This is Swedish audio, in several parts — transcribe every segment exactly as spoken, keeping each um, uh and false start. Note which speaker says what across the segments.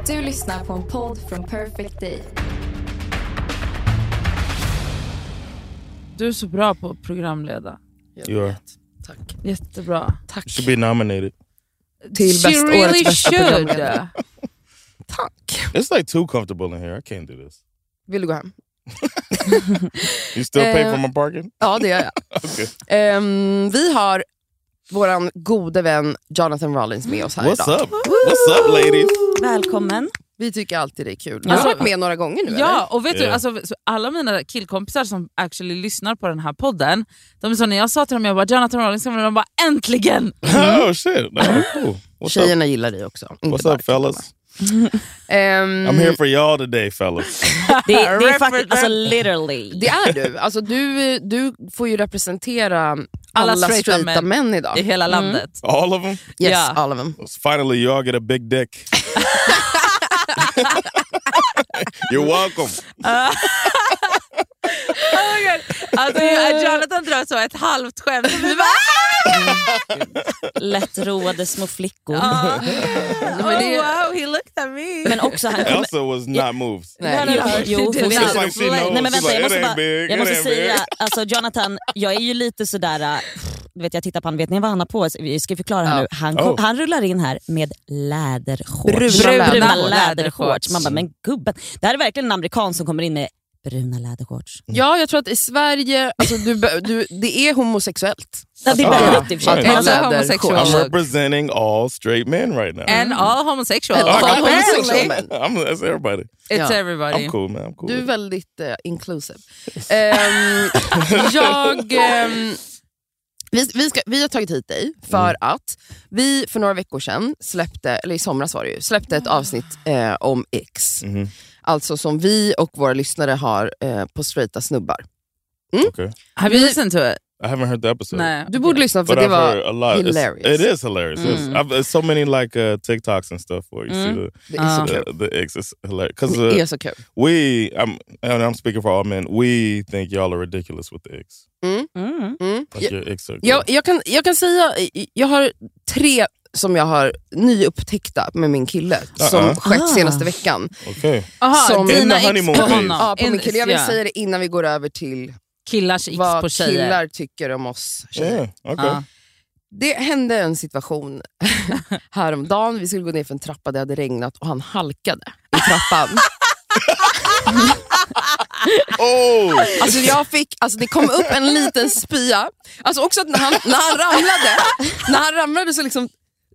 Speaker 1: Du lyssnar på en podd från Perfect Day.
Speaker 2: Du är så bra på att programleda.
Speaker 3: You are.
Speaker 4: Tack.
Speaker 2: Jättebra.
Speaker 4: Tack.
Speaker 3: Should be nominated.
Speaker 4: Till
Speaker 2: She
Speaker 4: bäst,
Speaker 2: really
Speaker 4: årets bästa
Speaker 2: should.
Speaker 4: programledare. Tack.
Speaker 3: It's like too comfortable in here. I can't do this.
Speaker 4: Vill du gå hem?
Speaker 3: You still pay
Speaker 4: Eh,
Speaker 3: for my parking?
Speaker 4: Ja, det gör jag.
Speaker 3: Okay.
Speaker 4: um, Vi har våran gode vän Jonathan Rollins med oss här
Speaker 3: What's
Speaker 4: idag.
Speaker 3: up? What's up, ladies?
Speaker 5: Välkommen.
Speaker 4: Vi tycker alltid det är kul.
Speaker 2: Ja.
Speaker 4: Du har varit med några gånger nu,
Speaker 2: Ja, och vet
Speaker 3: Yeah.
Speaker 2: du, alltså, så alla mina killkompisar som actually lyssnar på den här podden, de är så, när jag sa till dem, jag bara, Jonathan Rollins, de bara, äntligen!
Speaker 3: Oh shit. No, cool. What's up?
Speaker 4: Tjejerna gillar dig också. Inte
Speaker 3: What's
Speaker 4: bara
Speaker 3: up, fellas?
Speaker 4: killarna. Um,
Speaker 3: I'm here for y'all today, fellas.
Speaker 5: Det, det är faktiskt, alltså literally.
Speaker 4: Det är du. Alltså, du. Du får ju representera alla,
Speaker 2: Alla
Speaker 4: straighta,
Speaker 2: straighta
Speaker 4: män.
Speaker 2: män
Speaker 4: idag.
Speaker 2: I hela landet.
Speaker 3: All of them?
Speaker 4: Yes,
Speaker 2: Ja.
Speaker 4: all of them.
Speaker 3: Finally, you all get a big dick. You're welcome.
Speaker 2: Oh my God. Alltså, Jonathan drar så ett halvt skämt. Vi bara,
Speaker 5: Lättroade små flickor.
Speaker 2: ah.
Speaker 4: Men
Speaker 2: Oh,
Speaker 4: det-
Speaker 2: wow, he looked at me.
Speaker 5: Men också han kommer...
Speaker 3: Elsa was not moved.
Speaker 4: Nej.
Speaker 2: No, no, no.
Speaker 5: Jo,
Speaker 2: She
Speaker 5: jo,
Speaker 2: did
Speaker 5: för
Speaker 2: not.
Speaker 5: vi-
Speaker 3: It's like she knows.
Speaker 5: Nej men vänta,
Speaker 3: She's
Speaker 5: jag
Speaker 3: like,
Speaker 5: måste,
Speaker 3: it ain't
Speaker 5: bara,
Speaker 3: big,
Speaker 5: jag
Speaker 3: it
Speaker 5: måste
Speaker 3: ain't
Speaker 5: säga,
Speaker 3: big.
Speaker 5: alltså Jonathan, jag är ju lite sådär, du vet jag tittar på han, vet ni vad han har på sig? Vi ska förklara här
Speaker 4: Ja.
Speaker 5: nu. Han, kom,
Speaker 3: Oh.
Speaker 5: han rullar in här med lädershorts.
Speaker 4: Bruna
Speaker 5: Bruna
Speaker 4: lädershorts.
Speaker 5: lädershorts. Man bara, men gubben, det här är verkligen en amerikan som kommer in med bruna lädershorts.
Speaker 4: Ja, jag tror att i Sverige, alltså, du, du, det är homosexuellt.
Speaker 5: Ja, det är
Speaker 3: Ah.
Speaker 5: väldigt i och för sig.
Speaker 3: Alltså,
Speaker 2: Alltså,
Speaker 4: läder-
Speaker 2: homosexual.
Speaker 3: I'm
Speaker 2: look.
Speaker 3: representing all straight men right now.
Speaker 2: And all homosexual.
Speaker 4: All
Speaker 2: Apparently.
Speaker 4: homosexual men.
Speaker 3: I'm, that's everybody.
Speaker 2: It's
Speaker 4: Ja.
Speaker 2: everybody.
Speaker 3: I'm cool, man. I'm cool.
Speaker 4: Du är
Speaker 3: with it.
Speaker 4: väldigt uh, inclusive. Ehm, jag... ehm, vi, vi, ska, vi har tagit hit dig för
Speaker 3: Mm.
Speaker 4: att vi för några veckor sedan släppte, eller i somras var det ju, släppte ett avsnitt eh, om X.
Speaker 3: Mhm.
Speaker 4: Alltså som vi och våra lyssnare har eh, på straighta snubbar.
Speaker 3: Okay.
Speaker 2: Have you listened to it?
Speaker 3: I haven't heard the episode.
Speaker 2: Nej.
Speaker 4: Du borde lyssna för
Speaker 3: But
Speaker 4: det
Speaker 3: I've heard
Speaker 4: var
Speaker 3: a lot. It's-
Speaker 4: hilarious.
Speaker 3: It is hilarious. It's,
Speaker 4: Mm.
Speaker 3: I've, there's so many like uh, TikToks and stuff where you
Speaker 2: Mm.
Speaker 3: see the
Speaker 4: Det är så
Speaker 2: Ah.
Speaker 4: kul.
Speaker 3: the, the X is hilarious. Because
Speaker 4: Det är
Speaker 3: uh,
Speaker 4: så kul.
Speaker 3: we, I'm, and I'm speaking for all men, we think y'all are ridiculous with the X.
Speaker 5: Mm.
Speaker 4: Mm.
Speaker 3: Like your X are
Speaker 4: Jag, jag, kan, jag kan säga, jag har tre som jag har nyupptäckta med min kille som
Speaker 3: Uh-uh.
Speaker 4: skett
Speaker 5: Ah.
Speaker 4: senaste veckan.
Speaker 3: Okay.
Speaker 2: Aha,
Speaker 4: Som-
Speaker 3: In
Speaker 2: dina
Speaker 3: the
Speaker 2: ex
Speaker 3: honeymoon
Speaker 2: på
Speaker 3: phase.
Speaker 2: honom.
Speaker 4: Ja, på
Speaker 2: In-
Speaker 4: min kille. Jag vill
Speaker 2: ja.
Speaker 4: säga det innan vi går över till
Speaker 2: Killars ex
Speaker 4: vad
Speaker 2: på tjejer.
Speaker 4: killar tycker om oss tjejer.
Speaker 3: Yeah. Okay.
Speaker 2: Ja.
Speaker 4: Det hände en situation häromdagen. Vi skulle gå ner för en trappa, det hade regnat och han halkade i trappan.
Speaker 3: Oh,
Speaker 4: Alltså jag fick, alltså det kom upp en liten spya. Alltså också att när han, när han ramlade, när han ramlade så liksom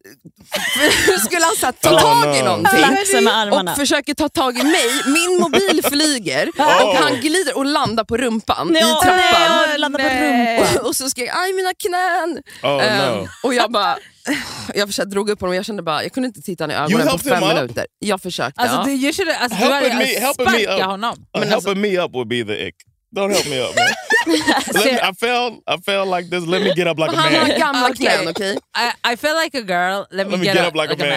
Speaker 4: skulle han så här, ta
Speaker 3: Oh,
Speaker 4: tag i
Speaker 3: no.
Speaker 4: någonting.
Speaker 5: Flaxa med armarna.
Speaker 4: Och försöker ta tag i mig. Min mobil flyger och han glider och landar på rumpan
Speaker 5: Nej,
Speaker 4: i trappan.
Speaker 5: nej, jag landar på rumpan.
Speaker 4: Och, och så skrek jag, aj mina knän.
Speaker 3: oh
Speaker 4: Ehm,
Speaker 3: no.
Speaker 4: och jag bara, jag försökte drog upp honom och jag kände bara, jag kunde inte titta honom i
Speaker 3: You
Speaker 4: ögonen på
Speaker 3: helped
Speaker 4: fem
Speaker 3: him up?
Speaker 4: minuter. Jag försökte.
Speaker 2: Alltså,
Speaker 4: ja.
Speaker 2: du, you should, alltså, du
Speaker 3: Helping
Speaker 2: hade
Speaker 3: me, helping me
Speaker 2: sparka
Speaker 3: up.
Speaker 2: honom.
Speaker 3: Uh,
Speaker 4: Men
Speaker 3: helping
Speaker 4: alltså-
Speaker 3: me up would be the ick. Don't help me up, man. Let me, I fell. I fell like this. Let me get up like a
Speaker 4: Han har
Speaker 3: man.
Speaker 4: gamla
Speaker 2: Okej.
Speaker 4: knän, okej?
Speaker 2: I, I feel like a girl. Let me,
Speaker 3: Let me get up like a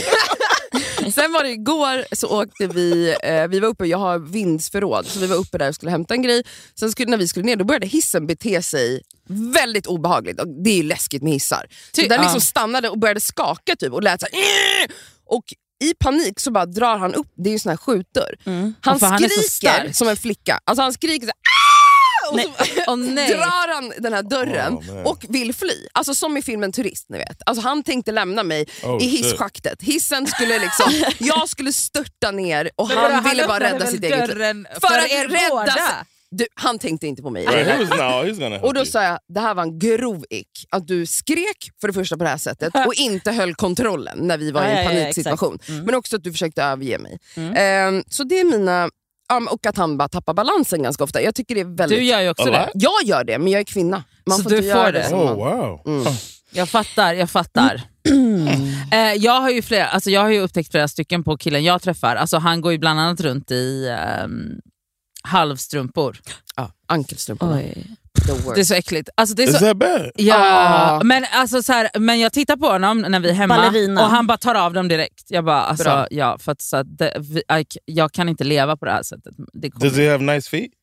Speaker 3: man.
Speaker 4: Sen var det igår så åkte vi, eh, vi var uppe, jag har vindsförråd, så vi var uppe där och skulle hämta en grej. Sen skulle, när vi skulle ner, då började hissen bete sig väldigt obehagligt. Och det är ju läskigt med hissar. Så
Speaker 2: Ty-
Speaker 4: den liksom
Speaker 2: ja.
Speaker 4: stannade och började skaka typ och lät så här, "Åh!" och i panik så bara drar han upp, det är ju sån här skjutdörr. Han
Speaker 2: Ja, för han är så
Speaker 4: skriker
Speaker 2: stark.
Speaker 4: som en flicka. Alltså han skriker så här, "Ah!" och så
Speaker 2: Åh, nej.
Speaker 4: drar han den här dörren
Speaker 3: Oh, man.
Speaker 4: och vill fly. Alltså som i filmen Turist, ni vet. Alltså han tänkte lämna mig
Speaker 3: Oh,
Speaker 4: i
Speaker 3: shit.
Speaker 4: hisschaktet. Hissen skulle liksom, jag skulle störta ner och
Speaker 2: Men
Speaker 4: han
Speaker 2: vadå,
Speaker 4: ville bara
Speaker 2: öppnade
Speaker 4: rädda
Speaker 2: väl
Speaker 4: sitt eget liv.
Speaker 2: dörren
Speaker 4: För
Speaker 2: för
Speaker 4: att
Speaker 2: er
Speaker 4: rädda
Speaker 2: båda?
Speaker 4: sig. Du, han tänkte inte på mig.
Speaker 3: Right, he was, no, he's gonna help
Speaker 4: Och då
Speaker 3: you.
Speaker 4: sa jag, det här var en grov ick. Att du skrek för det första på det här sättet och inte höll kontrollen när vi var
Speaker 5: Ja,
Speaker 4: i en
Speaker 5: ja, ja,
Speaker 4: paniksituation.
Speaker 5: exakt. Mm.
Speaker 4: Men också att du försökte överge mig. Ehm, så det är mina... ja, och att han bara tappar balansen ganska ofta. Jag tycker det är väldigt...
Speaker 2: Du gör ju också
Speaker 3: Alla?
Speaker 2: det.
Speaker 4: Jag gör det, men jag är kvinna. Man
Speaker 2: Så
Speaker 4: får
Speaker 2: du
Speaker 4: inte
Speaker 2: får
Speaker 4: göra
Speaker 2: det.
Speaker 4: det. som
Speaker 3: Oh
Speaker 4: man-
Speaker 3: wow.
Speaker 4: Mm.
Speaker 2: Jag fattar, jag fattar. eh, jag har ju flera, alltså jag har ju upptäckt flera stycken på killen jag träffar. Alltså han går ju bland annat runt i ehm, halvstrumpor.
Speaker 4: Ja, ankelstrumporna.
Speaker 5: Oj.
Speaker 4: The worst.
Speaker 2: Det är så äckligt. Alltså det är
Speaker 3: Is
Speaker 2: så,
Speaker 3: that bad?
Speaker 2: ja,
Speaker 4: Ah.
Speaker 2: men, alltså så här, men jag tittar på honom när vi är hemma
Speaker 5: Ballerina.
Speaker 2: och han bara tar av dem direkt. Jag bara, alltså,
Speaker 4: Bra.
Speaker 2: ja, för att, så att det, vi, jag, jag kan inte leva på det här sättet. Det kommer-
Speaker 3: Does he have nice feet?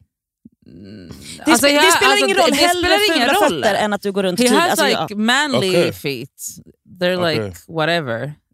Speaker 5: Det,
Speaker 2: Alltså,
Speaker 5: spe-
Speaker 2: jag-
Speaker 5: det spelar
Speaker 2: alltså,
Speaker 5: ingen
Speaker 2: det-
Speaker 5: roll,
Speaker 2: det
Speaker 5: hellre
Speaker 2: spelar ingen
Speaker 5: fula
Speaker 2: roll.
Speaker 5: fötter än att du går runt
Speaker 2: He
Speaker 5: tydligt.
Speaker 2: has
Speaker 5: Alltså,
Speaker 2: like
Speaker 5: ja.
Speaker 2: manly
Speaker 3: Okay.
Speaker 2: feet. They're like
Speaker 3: Okay.
Speaker 2: whatever.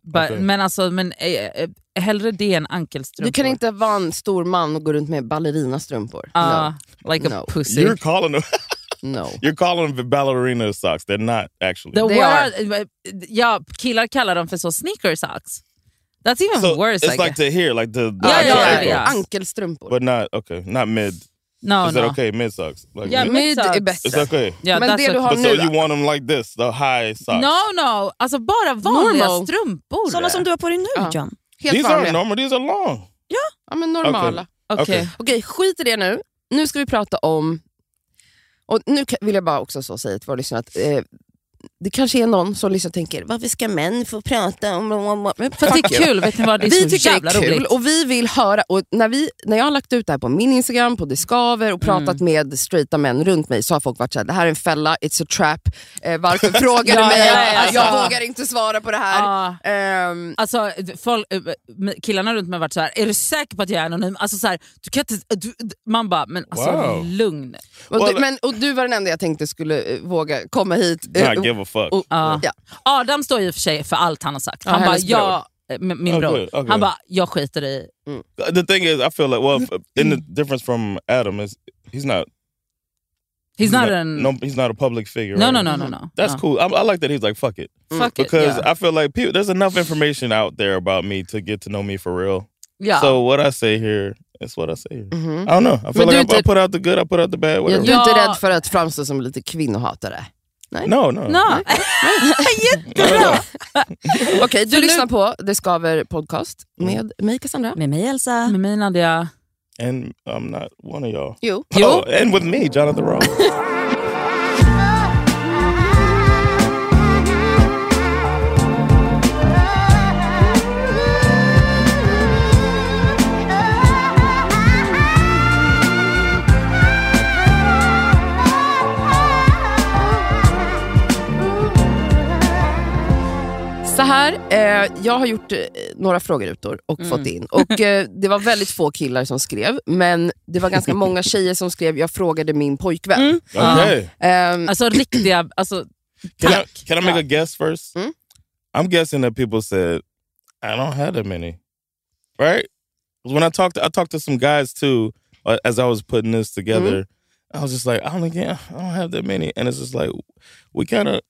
Speaker 2: But,
Speaker 3: Okay.
Speaker 2: Men alltså, men, eh, eh, hellre det än ankelstrumpor.
Speaker 4: Du kan inte vara en stor man och gå runt med ballerinastrumpor.
Speaker 2: Uh,
Speaker 4: no.
Speaker 2: Like a
Speaker 4: No.
Speaker 2: pussy.
Speaker 3: You're calling them.
Speaker 4: No.
Speaker 3: You're calling them ballerina socks. They're not actually.
Speaker 2: The
Speaker 4: They
Speaker 2: word, ja, killar kallar dem för så sneaker socks. That's even
Speaker 3: so
Speaker 2: worse.
Speaker 3: it's
Speaker 2: I
Speaker 3: like
Speaker 2: guess.
Speaker 3: to here, like the.
Speaker 2: Yeah,
Speaker 3: the
Speaker 2: yeah,
Speaker 3: actual
Speaker 2: yeah,
Speaker 3: ankle.
Speaker 2: yeah.
Speaker 4: Ankelstrumpor.
Speaker 3: But not okay, not mid.
Speaker 2: No,
Speaker 3: Is
Speaker 2: no.
Speaker 3: that okay? Mid socks. Like
Speaker 2: Yeah,
Speaker 3: mid?
Speaker 2: mid
Speaker 4: Mid är
Speaker 2: socks.
Speaker 4: bättre.
Speaker 3: It's okay.
Speaker 2: Yeah,
Speaker 4: Men
Speaker 2: that's
Speaker 4: det du
Speaker 2: okay.
Speaker 4: har
Speaker 3: But
Speaker 4: nu
Speaker 3: so
Speaker 4: då?
Speaker 3: you want them like this, the high socks?
Speaker 2: No, no. Alltså bara vanliga
Speaker 4: Normal.
Speaker 2: strumpor.
Speaker 5: Såna som du har på dig nu,
Speaker 4: Ja.
Speaker 5: John.
Speaker 4: Helt
Speaker 3: These aren't
Speaker 4: vanliga.
Speaker 3: normal. These are long.
Speaker 4: Ja, men normala.
Speaker 3: Okay.
Speaker 2: Okej.
Speaker 3: Okay.
Speaker 4: Okej, skit i det nu. Nu ska vi prata om... Och nu ka- vill jag bara också så säga till våra lyssnare att eh, det kanske är någon som lyssnar och tänker, varför ska män få prata om... Men
Speaker 2: För att det är kul, vet ni vad? Det är
Speaker 4: vi
Speaker 2: så
Speaker 4: tycker
Speaker 2: jävla
Speaker 4: det är kul
Speaker 2: roligt.
Speaker 4: och vi vill höra. Och när, vi, när jag har lagt ut det här på min Instagram, på Discover och pratat
Speaker 2: Mm.
Speaker 4: med straighta män runt mig, så har folk varit såhär, det här är en fälla, it's a trap. Eh, varför frågar du
Speaker 2: Ja,
Speaker 4: mig?
Speaker 2: ja, ja, ja.
Speaker 4: Jag vågar inte svara på det här.
Speaker 2: Ja.
Speaker 4: Ehm,
Speaker 2: Alltså, folk, eh, killarna runt mig har varit så här: är du säker på att jag är anonym? Alltså, så här, du kan inte, du, man bara, men alltså
Speaker 3: Wow.
Speaker 2: lugn.
Speaker 4: och,
Speaker 3: Well,
Speaker 4: du, men, och du var den enda jag tänkte skulle eh, våga komma hit.
Speaker 3: Not
Speaker 4: Eh,
Speaker 3: give a fuck.
Speaker 4: och-
Speaker 2: Ja.
Speaker 4: Ja.
Speaker 2: Adam står ju för sig för allt han har sagt.
Speaker 4: Ja,
Speaker 2: Han bara,
Speaker 4: hennes
Speaker 2: jag, eh, min bror,
Speaker 3: Okay, okay.
Speaker 2: han bara, jag skiter i...
Speaker 3: The thing is, I feel like well, f- in the difference from Adam is he's not.
Speaker 2: He's not an...
Speaker 3: no. He's not a public figure.
Speaker 2: No,
Speaker 3: right?
Speaker 2: no, no, no, no.
Speaker 3: That's
Speaker 2: no.
Speaker 3: cool. I, I like that he's like fuck it
Speaker 2: Fuck it,
Speaker 3: because
Speaker 2: yeah.
Speaker 3: I feel like people, there's enough information out there about me to get to know me for real.
Speaker 2: Ja.
Speaker 3: So what I say here is what I say here.
Speaker 4: Mhm.
Speaker 3: I don't know. I feel
Speaker 4: But
Speaker 3: like
Speaker 4: do
Speaker 3: I, I
Speaker 4: it-
Speaker 3: put out the good. I put out the bad.
Speaker 4: Ja,
Speaker 3: Whatever.
Speaker 4: du är inte
Speaker 2: Ja.
Speaker 4: rädd för att framstå som lite kvinnohatare?
Speaker 3: No, no.
Speaker 2: No. Jättebra!
Speaker 4: Okej, du lyssnar på Det Skaver podcast med mig Cassandra.
Speaker 5: Med mig Elsa.
Speaker 2: Med mig Nadia.
Speaker 3: And I'm not one of y'all.
Speaker 4: Jo.
Speaker 2: Jo.
Speaker 3: Oh, and with me, Jonathan Ross.
Speaker 4: Så här, eh, jag har gjort eh, några frågerutor och
Speaker 2: Mm.
Speaker 4: fått in. Och eh, det var väldigt få killar som skrev, men det var ganska många tjejer som skrev, jag frågade min pojkvän.
Speaker 2: Mm.
Speaker 3: Okay.
Speaker 4: Ehm,
Speaker 2: Alltså riktiga... Alltså,
Speaker 3: Can I,
Speaker 2: tack.
Speaker 3: can I make a guess first?
Speaker 4: Mm.
Speaker 3: I'm guessing that people said, I don't have that many. Right? 'Cause when I talked to, I talked to some guys too, uh, as I was putting this together, I was just like, I don't, again, I don't have that many. And it's just like, we kind of,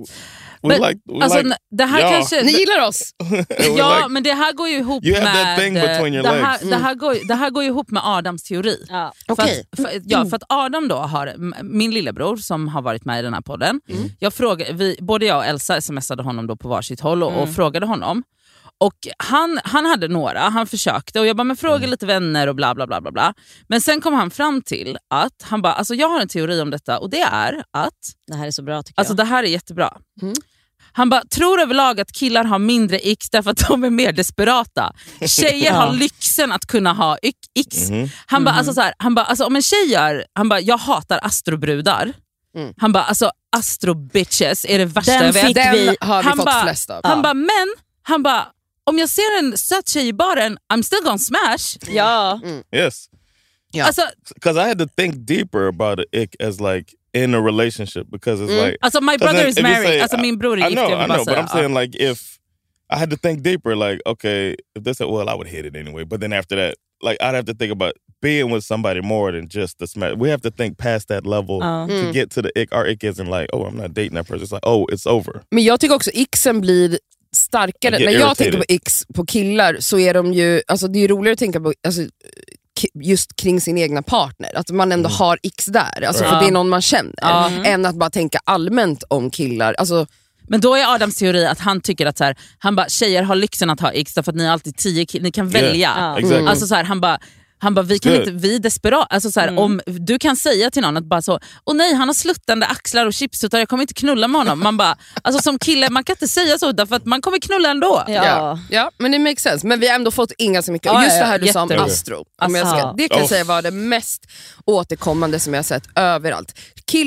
Speaker 3: we
Speaker 2: Men,
Speaker 3: like, we
Speaker 2: Alltså,
Speaker 3: like,
Speaker 2: det här
Speaker 3: ja.
Speaker 2: kanske...
Speaker 4: ni gillar oss!
Speaker 3: we
Speaker 2: Ja,
Speaker 3: like-
Speaker 2: men det här går ju ihop
Speaker 3: You have
Speaker 2: med...
Speaker 3: that thing between your
Speaker 2: det, här,
Speaker 3: legs.
Speaker 2: det, här går, det här går ju ihop med Adams teori.
Speaker 5: Ja.
Speaker 4: Okej.
Speaker 2: För, att, för, ja, för att Adam då har, m- min lillebror som har varit med i den här podden,
Speaker 3: Mm.
Speaker 2: jag frågade, vi, både jag och Elsa smsade honom då på varsitt håll och,
Speaker 3: Mm.
Speaker 2: och frågade honom. Och han, han hade några, han försökte och jag bara, men fråga
Speaker 3: Mm.
Speaker 2: lite vänner och bla bla bla bla bla. Men sen kom han fram till att, han bara, alltså jag har en teori om detta och det är att,
Speaker 5: Det här är så bra tycker
Speaker 2: alltså
Speaker 5: jag.
Speaker 2: det här är jättebra.
Speaker 4: Mm.
Speaker 2: Han bara, tror överlag att killar har mindre x därför att de är mer desperata. Tjejer har lyxen att kunna ha y- x.
Speaker 3: Mhm.
Speaker 2: Han bara, alltså så här, han bara, alltså om en tjej gör, han bara, jag hatar astrobrudar.
Speaker 4: Mm.
Speaker 2: Han bara, alltså astrobitches är det värsta
Speaker 5: Den
Speaker 2: jag vet.
Speaker 5: fick
Speaker 4: Den
Speaker 5: vi-
Speaker 4: har vi
Speaker 2: han
Speaker 4: fått
Speaker 2: bara-
Speaker 4: flest av.
Speaker 2: Han bara, men, han bara, om jag ser en söt tjej i baren, I'm still gonna smash.
Speaker 5: Ja.
Speaker 3: Yes.
Speaker 4: Ja.
Speaker 2: Alltså,
Speaker 3: Because I had to think deeper about the ick as like in a relationship because it's
Speaker 4: Mm.
Speaker 3: like,
Speaker 2: alltså my
Speaker 3: 'cause
Speaker 2: brother
Speaker 3: then
Speaker 2: is
Speaker 3: if you
Speaker 2: married,
Speaker 3: say-
Speaker 2: alltså min bror är
Speaker 3: I
Speaker 2: gift.
Speaker 3: know,
Speaker 2: jag vill
Speaker 3: I
Speaker 2: bara
Speaker 3: know, but
Speaker 2: säga,
Speaker 3: I'm saying like if I had to think deeper, like okay, if they said, well, I would hit it anyway, but then after that, like I'd have to think about being with somebody more than just the smash. We have to think past that level
Speaker 5: Ja.
Speaker 3: to get to the ick. Our ick isn't like, oh, I'm not dating that person. It's like, oh, it's over.
Speaker 4: Men jag tycker också xen blir starkare.
Speaker 3: I get
Speaker 4: När jag
Speaker 3: irritated.
Speaker 4: tänker på x på killar så är de ju, alltså det är ju roligare att tänka på alltså, k- just kring sin egna partner. Att man ändå har x där, alltså,
Speaker 3: Right.
Speaker 4: för det är någon man känner.
Speaker 2: Ja.
Speaker 4: Än att bara tänka allmänt om killar. Alltså,
Speaker 2: Men då är Adams teori att han tycker att så här, han bara, tjejer har lyxen att ha x därför att ni har alltid tio ki- ni kan välja.
Speaker 5: Ja.
Speaker 3: Exactly.
Speaker 2: Alltså så här, han bara, han bara, vi kan
Speaker 3: Good.
Speaker 2: inte, vi är desperat. Alltså så här,
Speaker 5: Mm.
Speaker 2: om du kan säga till någon att bara så, åh nej, han har sluttande axlar och chipsuttar, jag kommer inte knulla med honom. Man bara, alltså som kille, man kan inte säga så därför att man kommer knulla ändå.
Speaker 5: Ja.
Speaker 4: ja. ja, men det makes sense. Men vi har ändå fått inga så mycket.
Speaker 2: Ja,
Speaker 4: Just
Speaker 2: ja,
Speaker 4: det här du sa om
Speaker 2: jätteroligt.
Speaker 4: astro. Om jag ska,
Speaker 5: Alltså.
Speaker 4: det kan jag
Speaker 3: Oh.
Speaker 4: säga var det mest återkommande som jag har sett överallt. Killar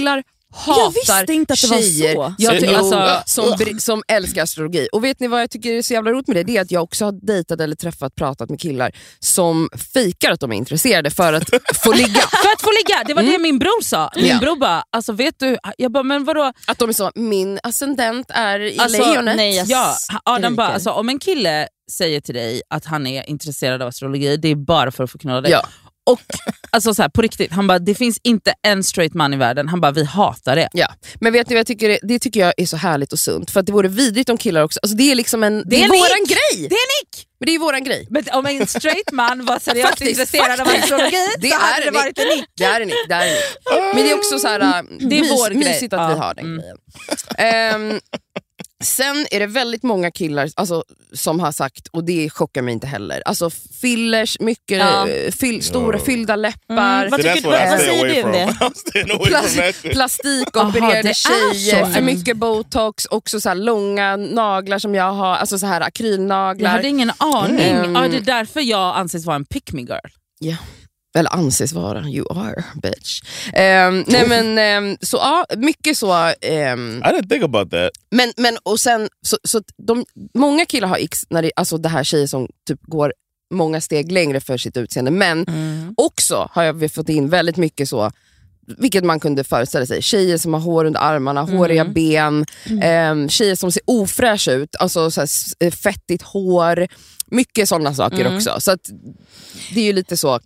Speaker 2: hatar
Speaker 5: Jag visste inte att det var
Speaker 4: tjejer
Speaker 5: så.
Speaker 2: Jag ty-
Speaker 3: Jo.
Speaker 2: alltså,
Speaker 4: som, br- som älskar astrologi. Och vet ni vad jag tycker är så jävla roligt med det? Det är att jag också har dejtat eller träffat, pratat med killar som fejkar att de är intresserade för att få ligga.
Speaker 2: för att få ligga, det var det min bror sa. Min
Speaker 4: Ja.
Speaker 2: bror bara, alltså vet du, jag bara, men vadå?
Speaker 4: Att de är så, min ascendent är i
Speaker 2: Alltså,
Speaker 4: lejonet.
Speaker 5: nej, jag
Speaker 2: Ja, Adam bara,
Speaker 5: skriker.
Speaker 2: alltså, om en kille säger till dig att han är intresserad av astrologi, det är bara för att få knulla dig.
Speaker 4: Ja.
Speaker 2: Och alltså så här, på riktigt, han bara, det finns inte en straight man i världen. Han bara, vi hatar det.
Speaker 4: Ja. Men vet ni vad jag tycker? Det, det tycker jag är så härligt och sunt. För att det vore vidrigt om killar också. Alltså det är liksom en, det,
Speaker 2: är
Speaker 4: är
Speaker 2: en
Speaker 4: våran
Speaker 2: nick.
Speaker 4: grej.
Speaker 2: Det är Nick!
Speaker 4: Men det är våran grej.
Speaker 2: Men om en straight man var seriöst
Speaker 4: Faktiskt,
Speaker 2: intresserad av
Speaker 4: faktiskt.
Speaker 2: astrologi,
Speaker 4: Det
Speaker 2: så
Speaker 4: är
Speaker 2: hade det
Speaker 4: en
Speaker 2: varit en Nick.
Speaker 4: Det är en nick, det är en nick. Men det är också så här,
Speaker 2: Det är
Speaker 4: mys,
Speaker 2: vår grej.
Speaker 4: mysigt att
Speaker 2: Ja.
Speaker 4: vi har den
Speaker 2: Mm.
Speaker 4: grejen. Ehm, sen är det väldigt många killar alltså, som har sagt, och det chockar mig inte heller, alltså fillers, mycket
Speaker 5: Ja.
Speaker 4: eh, fyll, stora
Speaker 3: Ja.
Speaker 4: fyllda läppar.
Speaker 5: Mm, vad
Speaker 3: See,
Speaker 5: tycker
Speaker 3: that's
Speaker 5: du-
Speaker 3: what I
Speaker 5: vad
Speaker 3: stay
Speaker 5: säger
Speaker 3: away
Speaker 5: du om
Speaker 3: from.
Speaker 5: det?
Speaker 3: I'm staying away
Speaker 4: Plas-
Speaker 3: from that shit.
Speaker 4: Plastikopererade
Speaker 2: Aha, det är
Speaker 4: tjejer,
Speaker 2: så.
Speaker 4: för mycket botox, också så här långa naglar som jag har, alltså så här
Speaker 2: Jag
Speaker 4: akrylnaglar.
Speaker 2: hade ingen aning.
Speaker 4: Mm.
Speaker 2: Ja, det är därför jag anses vara en pick me girl.
Speaker 4: Ja. Eller anses vara, you are bitch. Ehm, nej men ehm, så ja, mycket så. ehm,
Speaker 3: I didn't think about that.
Speaker 4: men, men och sen, så, så de, många killar har x, när det, alltså det här tjejer som typ går många steg längre för sitt utseende. Men också har jag fått in väldigt mycket så, vilket man kunde föreställa sig. Tjejer som har hår under armarna, håriga ben, ehm, tjejer som ser ofräscha ut, alltså så här, s- fettigt hår, mycket sådana saker
Speaker 5: Mm.
Speaker 4: också. Så att det är ju lite så.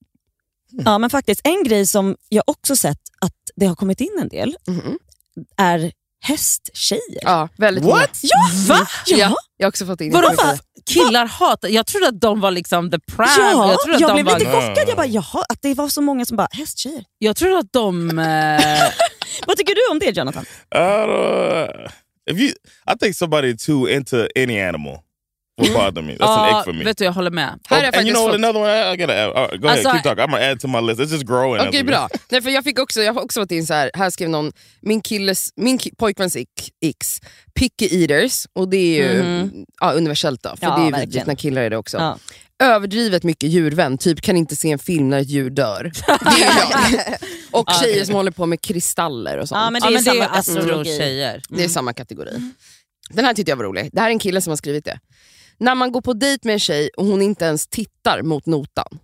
Speaker 5: Ja, men faktiskt en grej som jag också sett att det har kommit in en del
Speaker 4: Mhm.
Speaker 5: är hästtjejer.
Speaker 4: Ja, väldigt
Speaker 3: What?
Speaker 4: många.
Speaker 5: Ja, va? Ja.
Speaker 4: Ja, jag har också fått in
Speaker 2: Vadå,
Speaker 4: mycket.
Speaker 2: va? Killar hatar, jag trodde att de var liksom the prime.
Speaker 5: Ja,
Speaker 2: jag trodde att
Speaker 5: jag
Speaker 2: de
Speaker 5: blev
Speaker 2: var,
Speaker 5: lite chockad. Jag bara, jaha, att det var så många som bara, hästtjejer.
Speaker 2: jag trodde att de... Eh,
Speaker 5: Vad tycker du om det, Jonathan?
Speaker 3: I don't, if you, I think somebody too into any animal will bother me. That's an
Speaker 2: ja,
Speaker 3: ick for me.
Speaker 2: vet du, jag håller med.
Speaker 4: Här
Speaker 3: Oh,
Speaker 4: är jag
Speaker 3: and you
Speaker 4: faktiskt
Speaker 3: know what?
Speaker 4: fått.
Speaker 3: Another one. I, I gotta add. All right, go
Speaker 2: Alltså,
Speaker 3: ahead. Keep talking. I'm gonna add to my list. It's just growing.
Speaker 4: Okej,
Speaker 3: after
Speaker 4: bra.
Speaker 3: this.
Speaker 4: Nej, för jag, fick också, jag har också fått in så här, här skrev någon, min killes, min ki, pojkväns ick- X, picky eaters, och det är ju
Speaker 5: Mhm.
Speaker 4: ja, universellt då, för
Speaker 5: Ja,
Speaker 4: det är ju
Speaker 5: verkligen.
Speaker 4: vidrigt när killar är det också.
Speaker 5: Ja.
Speaker 4: Överdrivet mycket djurvän, typ kan inte se en film när ett djur dör. Det är ju jag. Och
Speaker 2: Ja,
Speaker 4: tjejer
Speaker 2: det-
Speaker 4: som håller på med kristaller och sånt.
Speaker 5: Ja, men det
Speaker 2: Ja,
Speaker 5: är
Speaker 2: men det är
Speaker 5: samma
Speaker 2: ju
Speaker 5: astrologi.
Speaker 2: astro-tjejer.
Speaker 4: Det är samma kategori. Den här tyckte jag var rolig. Det här är en kille som har skrivit det. När man går på dejt med en tjej och hon inte ens tittar mot notan.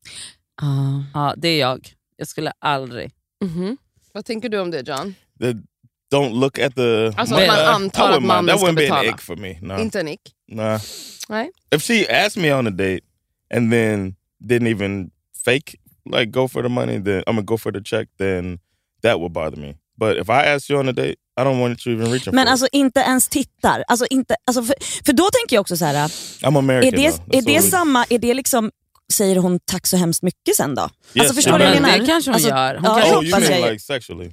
Speaker 5: Ah.
Speaker 2: Ja, det är jag. Jag skulle aldrig...
Speaker 4: Mhm. Vad tänker du om det, John?
Speaker 3: The, don't look at the.
Speaker 4: Alltså
Speaker 3: money.
Speaker 4: att man
Speaker 3: I
Speaker 4: antar
Speaker 3: wouldn't
Speaker 4: att
Speaker 3: mind.
Speaker 4: mannen
Speaker 3: That
Speaker 4: ska
Speaker 3: wouldn't be an
Speaker 4: betala.
Speaker 3: ick for me. No,
Speaker 4: Inte en ick?
Speaker 3: nah.
Speaker 4: Nej.
Speaker 3: If she asked me on a date and then didn't even fake like go for the money, then I'm gonna go for the check. Then that would bother me. But if I ask you on a date, I don't want you even reaching
Speaker 5: Men
Speaker 3: for
Speaker 5: alltså inte ens tittar. Alltså, inte, alltså, för, för då tänker jag också så här.
Speaker 3: it. I'm American.
Speaker 5: Är det,
Speaker 3: though.
Speaker 5: är
Speaker 3: That's
Speaker 5: det
Speaker 3: all it-
Speaker 5: samma, är det liksom, säger hon tack så hemskt mycket sen då? Alltså
Speaker 3: Yes.
Speaker 5: förstår
Speaker 3: Ja,
Speaker 5: du vad jag
Speaker 3: men
Speaker 5: menar?
Speaker 2: det kanske hon
Speaker 5: alltså,
Speaker 2: gör. Hon
Speaker 5: ja,
Speaker 2: kanske-
Speaker 3: Oh, you
Speaker 5: hoppas
Speaker 3: mean
Speaker 5: jag.
Speaker 3: like sexually?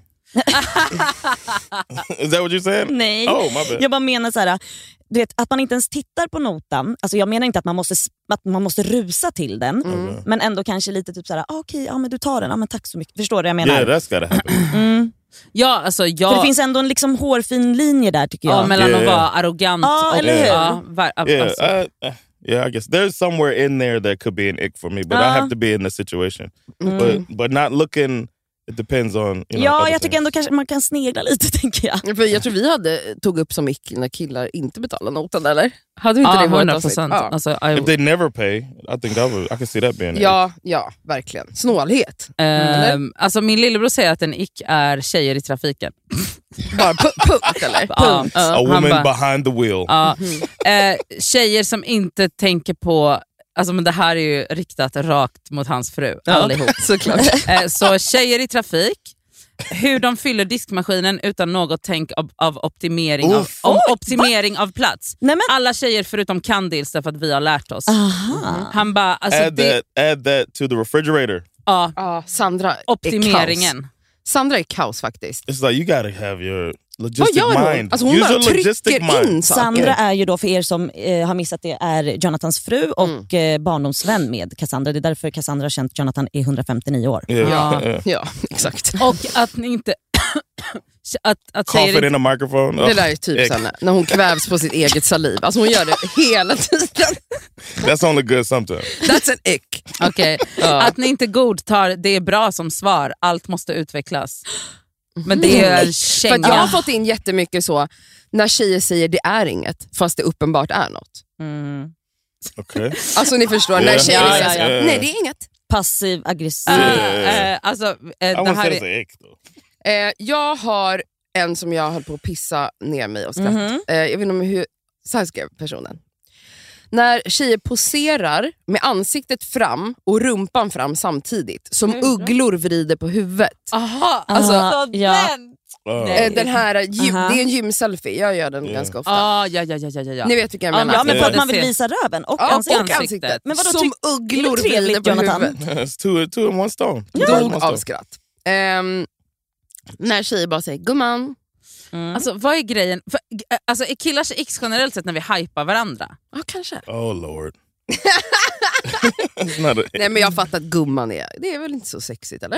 Speaker 3: Is that what you're saying?
Speaker 5: Nej,
Speaker 3: Oh, my bad.
Speaker 5: jag bara menar så här, du vet, att man inte ens tittar på notan. Alltså jag menar inte att man måste, att man måste rusa till den,
Speaker 3: Mm.
Speaker 5: men ändå kanske lite typ så här, ah, okej, ja men du tar den, ja men tack så mycket. Förstår du vad jag menar?
Speaker 3: Yeah, that's gotta happen.
Speaker 5: Mm.
Speaker 2: Ja, alltså jag...
Speaker 5: För det finns ändå en liksom hårfin linje där tycker jag.
Speaker 2: ja, mellan
Speaker 3: Yeah.
Speaker 2: att vara arrogant
Speaker 5: Ja,
Speaker 2: och...
Speaker 5: eller hur?
Speaker 2: Ja, var,
Speaker 3: Yeah,
Speaker 2: alltså,
Speaker 3: I, uh, yeah. I guess there's somewhere in there that could be an ick for me, but I
Speaker 5: Ja.
Speaker 3: have to be in the situation. But but not looking. It depends on you know.
Speaker 5: Ja,
Speaker 3: other
Speaker 5: jag tycker
Speaker 3: things.
Speaker 5: ändå kanske man kan snegla lite tänker jag.
Speaker 4: För jag tror vi hade tog upp som ick när killar inte betalar notan, eller? Hade vi inte
Speaker 2: ja,
Speaker 4: det i vårt
Speaker 2: hundra
Speaker 4: avsnitt?
Speaker 2: procent.
Speaker 4: Ja.
Speaker 2: Alltså, I-
Speaker 3: If they never pay, I think that would, I can see that being. an ick.
Speaker 4: Ja, ja, verkligen. Snålhet.
Speaker 2: Ehm, alltså min lillebror säger att en ick är tjejer i trafiken.
Speaker 4: Bara pu- punkt, eller?
Speaker 2: Ja.
Speaker 4: Punkt.
Speaker 3: A
Speaker 2: Han
Speaker 3: woman
Speaker 2: bara-
Speaker 3: behind the wheel.
Speaker 2: Ja. Eh, tjejer som inte tänker på... Alltså, men det här är ju riktat rakt mot hans fru, allihop.
Speaker 4: Såklart.
Speaker 2: Eh, så tjejer i trafik, hur de fyller diskmaskinen utan något tänk av, av optimering, av,
Speaker 3: Uff.
Speaker 2: om optimering av plats.
Speaker 5: Nej, men,
Speaker 2: Alla tjejer förutom Candils därför att vi har lärt oss.
Speaker 5: aha.
Speaker 2: Han bara, alltså
Speaker 3: add
Speaker 2: det,
Speaker 3: that. Add that to the refrigerator.
Speaker 2: ja,
Speaker 4: Ja, Sandra är kaos.
Speaker 2: optimeringen.
Speaker 4: Sandra är kaos faktiskt.
Speaker 3: It's like you gotta have your
Speaker 4: Vad
Speaker 3: logistic
Speaker 4: gör hon?
Speaker 3: mind.
Speaker 4: Alltså hon
Speaker 3: Use
Speaker 4: bara
Speaker 3: your logistic
Speaker 4: trycker
Speaker 3: mind.
Speaker 4: in saker.
Speaker 5: Sandra är ju då, för er som eh, har missat det, är Jonathans fru och eh, barndomsvän med Cassandra. Det är därför Cassandra har känt Jonathan i hundrafemtionio år.
Speaker 3: Yeah,
Speaker 2: Ja.
Speaker 3: yeah.
Speaker 4: Ja, exakt.
Speaker 2: Och att ni inte... att, att tjejer
Speaker 3: Coughing
Speaker 2: inte,
Speaker 3: in a microphone.
Speaker 4: Det
Speaker 3: Oh,
Speaker 4: där är typ
Speaker 3: ick.
Speaker 4: Sanna, när hon kvävs på sitt eget saliv. Alltså hon gör det hela tiden.
Speaker 3: That's only good sometimes.
Speaker 4: That's an ick.
Speaker 2: okej. Att ni inte godtar det är bra som svar, allt måste utvecklas. Men det är en
Speaker 4: För
Speaker 2: känga.
Speaker 4: att jag har fått in jättemycket så när tjejer säger det är inget fast det uppenbart är något.
Speaker 5: Mm.
Speaker 3: Okay.
Speaker 4: Alltså ni förstår, när
Speaker 3: Yeah.
Speaker 4: tjejer
Speaker 5: Ja,
Speaker 4: säger
Speaker 5: ja,
Speaker 3: ja.
Speaker 4: nej det är inget.
Speaker 5: Passiv aggressiv.
Speaker 2: Uh, uh, alltså, uh,
Speaker 3: I
Speaker 2: det
Speaker 3: wouldn't
Speaker 2: här
Speaker 3: say it's
Speaker 2: är...
Speaker 3: an ick though.
Speaker 4: Eh, jag har en som jag höll på att pissa ner mig och skratt.
Speaker 5: Mhm.
Speaker 4: Eh, jag vet inte om hur, så här skrev personen. När tjejer poserar med ansiktet fram och rumpan fram samtidigt, som ugglor vrider på huvudet.
Speaker 2: Aha,
Speaker 5: Alltså,
Speaker 2: alltså
Speaker 5: ja.
Speaker 2: den!
Speaker 3: Uh,
Speaker 2: Nej.
Speaker 4: Eh, den här, gym,
Speaker 5: Aha.
Speaker 4: det är en gymselfie, jag gör den
Speaker 3: Yeah.
Speaker 4: ganska ofta.
Speaker 2: Ah, ja, ja, ja, ja, ja.
Speaker 4: Ni vet vilka jag
Speaker 2: Ja,
Speaker 4: menar.
Speaker 5: Ja, men för att man vill
Speaker 2: Det ser-
Speaker 5: visa röven och
Speaker 4: Ja,
Speaker 5: ansiktet.
Speaker 4: och ansiktet.
Speaker 5: Men vadå,
Speaker 4: som
Speaker 5: tyck-
Speaker 4: ugglor
Speaker 5: är det trevligt,
Speaker 4: vrider på
Speaker 5: Jonathan?
Speaker 4: huvudet.
Speaker 3: it's two, two in one stone. Two birds in one
Speaker 4: Dog
Speaker 3: stone.
Speaker 4: av skratt. Ehm, när tjejer bara säger gumman.
Speaker 5: Mm.
Speaker 2: Alltså vad är grejen? För, äh, alltså, är killars ex generellt sett när vi hypar varandra?
Speaker 4: Ja, kanske.
Speaker 3: Oh lord. It's not a,
Speaker 4: Nej, men jag fattar att gumman är, det är väl inte så sexigt eller?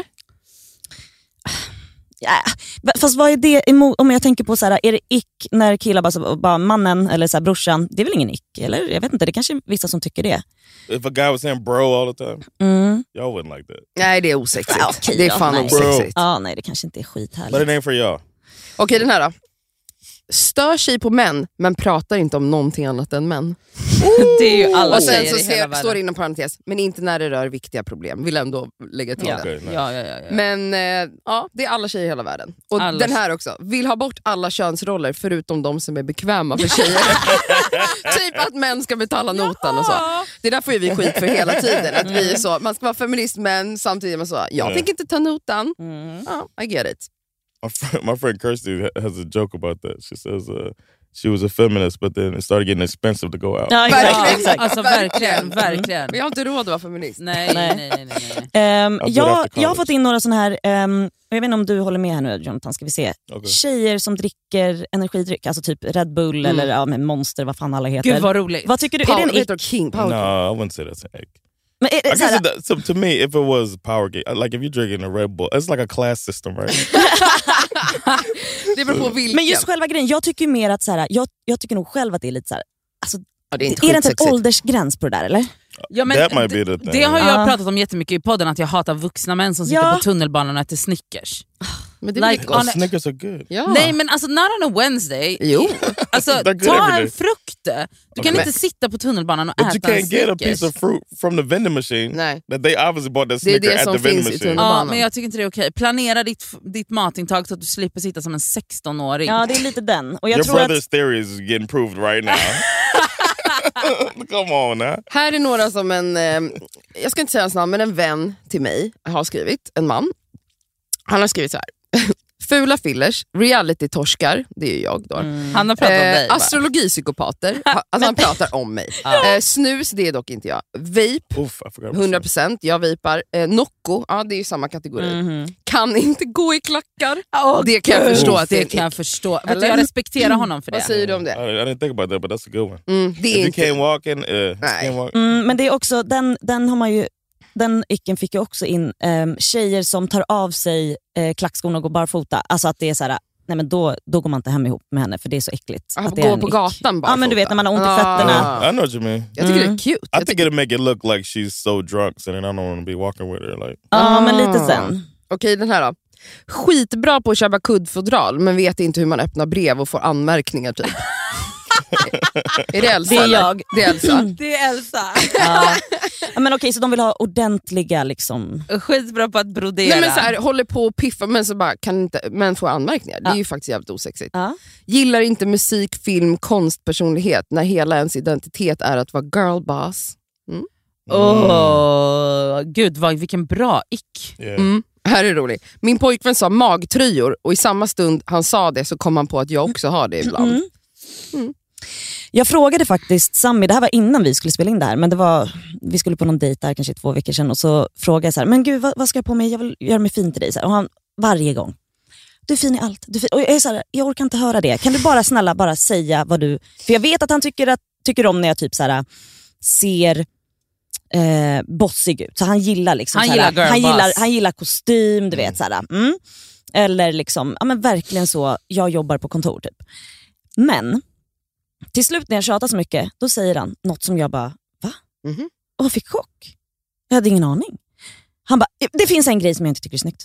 Speaker 5: Ja, fast vad är det emot, om jag tänker på så här, är det ick när killar bara, så, bara mannen eller så här, brorsan, det är väl ingen ick eller? Jag vet inte, det är kanske vissa som tycker det.
Speaker 3: if a guy was saying bro all the time,
Speaker 5: Mm.
Speaker 3: y'all wouldn't like that.
Speaker 4: Nej, det är osexigt.
Speaker 5: Ja, okej
Speaker 4: det är
Speaker 5: då,
Speaker 4: fan
Speaker 5: nej.
Speaker 4: osexigt.
Speaker 5: Ja, nej det kanske inte är skithärligt.
Speaker 3: But it ain't for y'all.
Speaker 4: Okej, den här då. Stör sig på män, men pratar inte om någonting annat än män.
Speaker 2: Det är ju alla
Speaker 4: Och sen
Speaker 2: tjejer
Speaker 4: så
Speaker 2: i hela
Speaker 4: ser,
Speaker 2: världen.
Speaker 4: står det inom parentes, men inte när det rör viktiga problem. Vill ändå lägga till
Speaker 2: Ja.
Speaker 4: det.
Speaker 3: Okay, nice.
Speaker 2: Ja, ja, ja, ja.
Speaker 4: Men eh, ja, det är alla tjejer i hela världen. Och
Speaker 2: Alla
Speaker 4: den här också. Vill ha bort alla könsroller förutom de som är bekväma för tjejer. Typ att män ska betala notan och så. Det där får ju vi skit för hela tiden. Att vi är så, man ska vara feminist men samtidigt är man så, jag
Speaker 3: Ja.
Speaker 4: tänker inte ta notan.
Speaker 5: Mm.
Speaker 4: Ja, I get it.
Speaker 3: My friend, my friend Kirsty ha- has a joke about that. She says uh, she was a feminist, but then it started getting expensive to go out.
Speaker 5: Ja,
Speaker 2: Ja,
Speaker 5: exakt, exakt.
Speaker 2: alltså verkligen, verkligen.
Speaker 4: Vi har inte råd att vara feminist.
Speaker 2: Nej,
Speaker 5: Nej.
Speaker 2: nej, nej, nej, nej.
Speaker 5: Ehm,
Speaker 3: I'll do it
Speaker 5: jag,
Speaker 3: after
Speaker 5: jag har
Speaker 3: college.
Speaker 5: fått in några såna här, ehm, jag vet inte om du håller med här nu Jonathan, ska vi se.
Speaker 3: Okay.
Speaker 5: Tjejer som dricker energidryck, alltså typ Red Bull
Speaker 4: Mm.
Speaker 5: eller ja, men Monster, vad fan alla heter.
Speaker 2: Gud vad roligt.
Speaker 5: Vad tycker du?
Speaker 4: Power,
Speaker 5: är det en
Speaker 4: heter
Speaker 5: ick?
Speaker 4: King Power.
Speaker 3: No, I wouldn't say that's an egg.
Speaker 5: Men är
Speaker 3: I
Speaker 5: det,
Speaker 3: guess
Speaker 5: såhär,
Speaker 3: it does, so to me, if it was power game, like if you're drinking a Red Bull, it's like a class system, right?
Speaker 4: Det beror på vilken.
Speaker 5: men just själva grejen, jag tycker ju mer att såhär, jag, jag tycker nog själv att det är lite såhär, alltså,
Speaker 4: ja, det är inte
Speaker 5: är det inte en
Speaker 4: skitsexigt.
Speaker 5: åldersgräns på det där eller?
Speaker 2: Ja, men
Speaker 3: That might be
Speaker 2: det,
Speaker 3: the thing.
Speaker 2: det har jag
Speaker 5: Ja.
Speaker 2: pratat om jättemycket i podden, att jag hatar vuxna män som sitter
Speaker 5: Ja.
Speaker 2: på tunnelbanan och äter Snickers.
Speaker 4: Men det är
Speaker 2: Like,
Speaker 4: like,
Speaker 2: on a-
Speaker 3: Snickers are good.
Speaker 4: ja.
Speaker 2: Nej men alltså not on a Wednesday.
Speaker 4: Jo.
Speaker 2: Alltså,
Speaker 3: They're good
Speaker 2: ta
Speaker 3: every
Speaker 2: en
Speaker 3: day.
Speaker 2: frukt. Du kan
Speaker 3: Okay.
Speaker 2: inte sitta på tunnelbanan och
Speaker 3: But you
Speaker 2: äta en
Speaker 3: can't get a
Speaker 2: Snickers.
Speaker 3: piece of fruit from the vending machine.
Speaker 4: Nej.
Speaker 3: That they obviously bought that
Speaker 4: Det är
Speaker 3: Snicker
Speaker 4: det
Speaker 3: at
Speaker 4: som
Speaker 3: the vending
Speaker 4: finns i
Speaker 3: machine.
Speaker 4: tunnelbanan.
Speaker 2: Ja, men jag tycker inte det är okej. Planera ditt, ditt matintag så att du slipper sitta som en sexton-åring.
Speaker 5: Ja, det är lite den. Och jag
Speaker 3: Your
Speaker 5: tror att,
Speaker 3: brother's theory is getting proved right now. Come on now.
Speaker 4: Här är några som en, eh, jag ska inte säga hans namn, men en vän till mig har skrivit, en man. Han har skrivit så här. Fula fillers, reality-torskar, det är ju jag då.
Speaker 2: Han har pratat om dig.
Speaker 4: Eh,
Speaker 2: va?
Speaker 4: astrologipsykopater, ha- alltså han pratar om mig. Eh, snus, det är dock inte jag. Vape,
Speaker 3: Oof, I forgot. about
Speaker 4: hundra
Speaker 3: that.
Speaker 4: procent, jag vapar. Eh, Nocco, ja det är ju samma kategori.
Speaker 5: Mhm.
Speaker 4: Kan inte gå i klackar.
Speaker 2: Åh,
Speaker 4: det kan jag
Speaker 2: gud.
Speaker 4: förstå att det är
Speaker 2: det
Speaker 4: en
Speaker 2: kan jag
Speaker 4: ick.
Speaker 2: förstå. Vet
Speaker 4: Eller?
Speaker 2: du, jag respekterar honom för
Speaker 4: Vad
Speaker 2: det.
Speaker 4: säger du om
Speaker 3: I,
Speaker 4: det?
Speaker 3: I didn't think about that, but that's a good one.
Speaker 4: Mm, det
Speaker 3: If
Speaker 4: är
Speaker 3: you
Speaker 4: inte...
Speaker 3: can't walk in, uh,
Speaker 4: Nej.
Speaker 3: can't walk.
Speaker 5: Mm, men det är också, den, den har man ju, den icken fick jag också in, um, tjejer som tar av sig eh, klackskorna och går barfota. Alltså att det är så här, nej men då, då går man inte hem ihop med henne för det är så äckligt.
Speaker 4: Ah,
Speaker 5: att det är
Speaker 4: gå
Speaker 5: en
Speaker 4: på
Speaker 5: ick.
Speaker 4: gatan bara.
Speaker 5: Ja men du vet när man har ont i
Speaker 4: Ah.
Speaker 5: fötterna.
Speaker 3: I know what you mean.
Speaker 4: Jag tycker
Speaker 5: Mm.
Speaker 4: det är cute.
Speaker 3: I
Speaker 4: Jag
Speaker 3: think
Speaker 4: tycker...
Speaker 3: it'll make it look like she's so drunk, so then I don't want to be walking with her. Like,
Speaker 5: Ja men
Speaker 4: Ah.
Speaker 5: lite sen.
Speaker 4: Okej, den här då. Skitbra på att köpa kuddfodral men vet inte hur man öppnar brev och får anmärkningar typ. Är det Elsa?
Speaker 5: Det är
Speaker 4: eller?
Speaker 5: jag.
Speaker 4: Det är Elsa.
Speaker 2: Det är Elsa.
Speaker 5: Ja. Ja, men okej, så de vill ha ordentliga liksom.
Speaker 2: Skitbra på att brodera.
Speaker 4: Nej men så här, håller på och piffa men så bara kan inte, men får anmärkningar. Det är ju faktiskt jävligt osexigt.
Speaker 5: Ja.
Speaker 4: Gillar inte musik, film, konstpersonlighet när hela ens identitet är att vara girlboss.
Speaker 2: Åh, gud vad, vilken bra ick.
Speaker 3: yeah.
Speaker 4: Mm. Här är det roligt. Min pojkvän sa magtröjor och i samma stund han sa det så kom han på att jag också har det ibland.
Speaker 5: Mm. Jag frågade faktiskt Sammy, det här var innan vi skulle spela in det här, men det var, vi skulle på någon dejt där kanske två veckor sedan och så frågade jag så här, men gud vad, vad ska jag på mig, jag vill göra mig fin till dig. Så här, och han varje gång, du är fin i allt. Du är fin. Och jag är så här, jag orkar inte höra det. Kan du bara snälla bara säga vad du, för jag vet att han tycker, att, tycker om när jag typ så här, ser eh, bossig ut. Så han gillar liksom
Speaker 2: Han
Speaker 5: så här,
Speaker 2: gillar girl
Speaker 5: han
Speaker 2: boss.
Speaker 5: gillar, han gillar kostym, du vet så här. Mm. Eller liksom, ja men verkligen så, jag jobbar på kontor typ. Men till slut när jag tjatar så mycket, då säger han något som jag bara, va?
Speaker 4: Mhm.
Speaker 5: Och jag fick chock. Jag hade ingen aning. Han bara, det finns en grej som jag inte tycker är snyggt.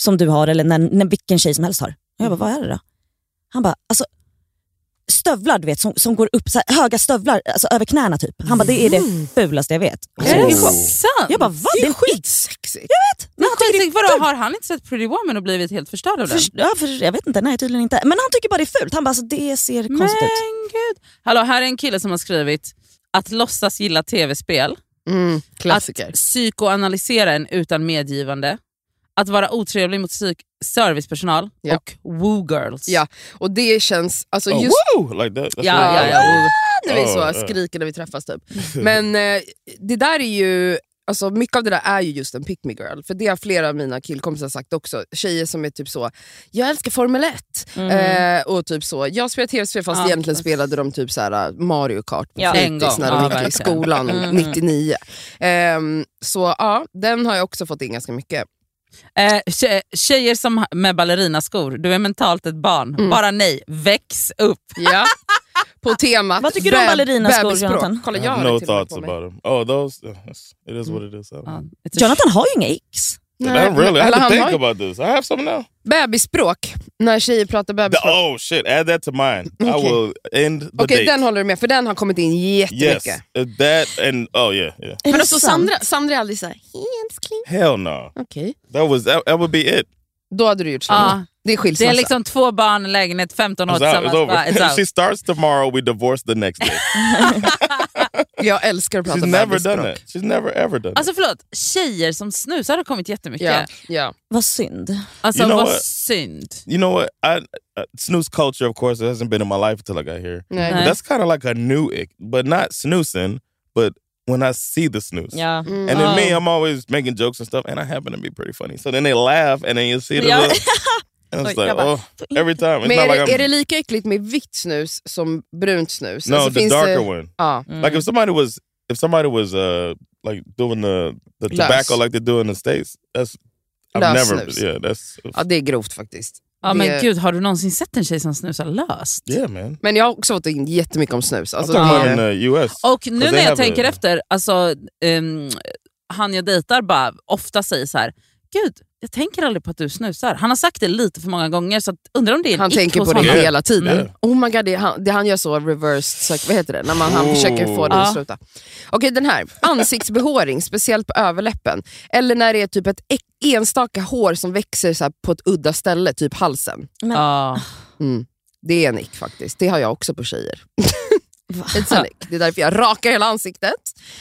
Speaker 5: som du har eller när, när vilken tjej som helst har. Och jag bara, vad är det då? Han bara, alltså stövlar du vet som, som går upp, så här, höga stövlar alltså över knäna typ. Han bara, det är det fulaste jag vet.
Speaker 2: Är det sant?
Speaker 5: Jag bara, vad?
Speaker 4: Det
Speaker 5: Det
Speaker 4: är
Speaker 5: är skit.
Speaker 4: skitsexigt.
Speaker 5: Jag vet. Men
Speaker 2: Men
Speaker 5: han tycker det
Speaker 2: skitsigt, vadå, har han inte sett Pretty Woman och blivit helt förstörd av den?
Speaker 5: För, ja, för, jag vet inte, nej tydligen inte. Men han tycker bara det är fult. Han bara, alltså, det ser
Speaker 2: Men
Speaker 5: konstigt ut.
Speaker 2: gud. Hallå, här är en kille som har skrivit att låtsas gilla tv-spel,
Speaker 4: Mm, klassiker.
Speaker 2: att psykoanalysera en utan medgivande, att vara otrevlig mot psyk- servicepersonal
Speaker 4: Ja.
Speaker 2: och woo-girls.
Speaker 4: Ja, och det känns... Alltså
Speaker 3: Oh,
Speaker 4: just
Speaker 3: woo! Like that. That's
Speaker 2: Ja,
Speaker 3: what
Speaker 2: ja,
Speaker 3: I
Speaker 2: ja.
Speaker 3: like.
Speaker 4: när vi
Speaker 3: Oh,
Speaker 4: så
Speaker 3: yeah.
Speaker 4: skriker när vi träffas typ. Men eh, det där är ju... Alltså mycket av det där är ju just en pick me girl. För det har flera av mina killkompisar sagt också. Tjejer som är typ så, jag älskar Formel ett.
Speaker 5: Mm.
Speaker 4: Eh, och typ så, jag spelar tv-spel fast
Speaker 2: Ja.
Speaker 4: egentligen spelade de typ så här Mario Kart på
Speaker 5: Ja.
Speaker 2: En
Speaker 4: fritids
Speaker 2: gång.
Speaker 4: när de
Speaker 2: Ja,
Speaker 4: gick i
Speaker 2: verkligen.
Speaker 4: skolan
Speaker 5: Mm.
Speaker 4: nittionio. Ehm, så ja, den har jag också fått in ganska mycket.
Speaker 2: Eh, tje- tjejer som med ballerinaskor, du är mentalt ett barn.
Speaker 4: Mm.
Speaker 2: Bara nej, väx upp.
Speaker 4: Ja. På temat
Speaker 5: Vad tycker du om
Speaker 4: beb-
Speaker 5: ballerinaskor,
Speaker 4: bebisspråk.
Speaker 5: Jonathan?
Speaker 4: Kolla,
Speaker 3: I
Speaker 4: jag
Speaker 3: have
Speaker 4: har
Speaker 3: no
Speaker 4: det till och med
Speaker 3: thoughts
Speaker 4: på mig.
Speaker 3: about them. Oh, those. Uh, it's- it is what it is. I don't know.
Speaker 2: Ja, it's a-
Speaker 5: Jonathan har ju inga ex.
Speaker 4: Nej,
Speaker 3: I don't really. I
Speaker 4: eller
Speaker 3: have to
Speaker 4: han
Speaker 3: think
Speaker 4: har ju-
Speaker 3: about this. I have some now.
Speaker 4: Bebisspråk, när tjejer pratar
Speaker 3: The-
Speaker 4: bebisspråk.
Speaker 3: oh shit! Add that to mine. I
Speaker 4: Okay.
Speaker 3: will end the
Speaker 4: Okej,
Speaker 3: date.
Speaker 4: den håller du med, för den har kommit in jättemycket.
Speaker 3: Yes, uh, that and oh yeah, yeah.
Speaker 5: Är
Speaker 4: Men
Speaker 5: det
Speaker 4: alltså,
Speaker 5: sant?
Speaker 4: Sandra, Sandra är aldrig såhär, älskling.
Speaker 3: Hell no.
Speaker 4: Okej,
Speaker 3: That was that, that would be it.
Speaker 4: då hade du gjort så.
Speaker 2: Ja.
Speaker 4: Det är
Speaker 2: Det
Speaker 4: skilsmässa.
Speaker 2: är liksom två barn, lägenhet, femton år
Speaker 3: It's, out,
Speaker 2: tillsammans.
Speaker 3: it's over.
Speaker 2: Bara, it's
Speaker 3: If she
Speaker 2: out.
Speaker 3: starts tomorrow, we divorce the next day.
Speaker 4: Jag älskar att prata
Speaker 3: She's never
Speaker 4: bebisspråk.
Speaker 3: done that. She's never ever done
Speaker 2: Alltså förlåt, tjejer som snusar har kommit jättemycket.
Speaker 4: Ja, ja.
Speaker 5: Vad synd.
Speaker 2: Alltså
Speaker 3: You know
Speaker 2: vad
Speaker 3: what?
Speaker 2: synd.
Speaker 3: that. You know what? I uh, snooze culture, of course, it hasn't been in my life until I got here.
Speaker 4: Nej.
Speaker 2: Nej.
Speaker 3: That's kind of like a new ick, but not snoozing, but when I see the snooze.
Speaker 5: Ja.
Speaker 4: Mm.
Speaker 3: And then
Speaker 2: Oh.
Speaker 3: me, I'm always making jokes and stuff, and I happen to be pretty funny. So then they laugh, and then you see the
Speaker 5: Ja.
Speaker 3: look. And it's
Speaker 5: Oj,
Speaker 3: like,
Speaker 5: jag bara,
Speaker 3: oh, every time. It's
Speaker 4: Men
Speaker 3: not
Speaker 4: är,
Speaker 3: like
Speaker 4: det,
Speaker 3: I'm...
Speaker 4: är det lika äckligt med vitt snus som brunt snus?
Speaker 3: no,
Speaker 4: Alltså,
Speaker 3: the
Speaker 4: finns
Speaker 3: darker
Speaker 4: det...
Speaker 3: one.
Speaker 4: Ja.
Speaker 5: Mm.
Speaker 3: Like if somebody was, if somebody was uh like doing the the
Speaker 4: Lös.
Speaker 3: tobacco like they do in the States, that's I've
Speaker 4: Lös
Speaker 3: never,
Speaker 4: snus.
Speaker 3: yeah, that's
Speaker 4: ja, det är grovt faktiskt.
Speaker 2: Ja,
Speaker 4: Det-
Speaker 2: men gud, har du någonsin sett en tjej som snusar löst?
Speaker 3: yeah, man.
Speaker 4: Men jag har också fått in jättemycket om snus.
Speaker 3: I'm
Speaker 4: Alltså,
Speaker 3: talking about
Speaker 4: det,
Speaker 3: in the U S.
Speaker 2: Och nu
Speaker 3: they
Speaker 2: när jag
Speaker 3: have
Speaker 2: tänker
Speaker 3: a-
Speaker 2: efter, alltså, um, han jag dejtar bara ofta säger så här: gud, jag tänker aldrig på att du snusar. Han har sagt det lite för många gånger, så att, undrar om det är en
Speaker 4: han
Speaker 2: ick
Speaker 4: tänker
Speaker 2: hos
Speaker 4: på det
Speaker 2: honom.
Speaker 3: Yeah.
Speaker 4: hela tiden.
Speaker 3: Yeah.
Speaker 4: Oh my god, det han, det han gör så reversed, så, vad heter det? När man, han
Speaker 3: Oh.
Speaker 4: försöker få det
Speaker 2: Ja.
Speaker 4: att sluta. Okej, den här. Ansiktsbehåring, speciellt på överläppen. Eller när det är typ ett ek- enstaka hår som växer så här på ett udda ställe, typ halsen.
Speaker 5: Men,
Speaker 2: Ja.
Speaker 4: Mm. Det är en ick faktiskt. Det har jag också på tjejer. It's an ick. Det är därför jag rakar hela ansiktet.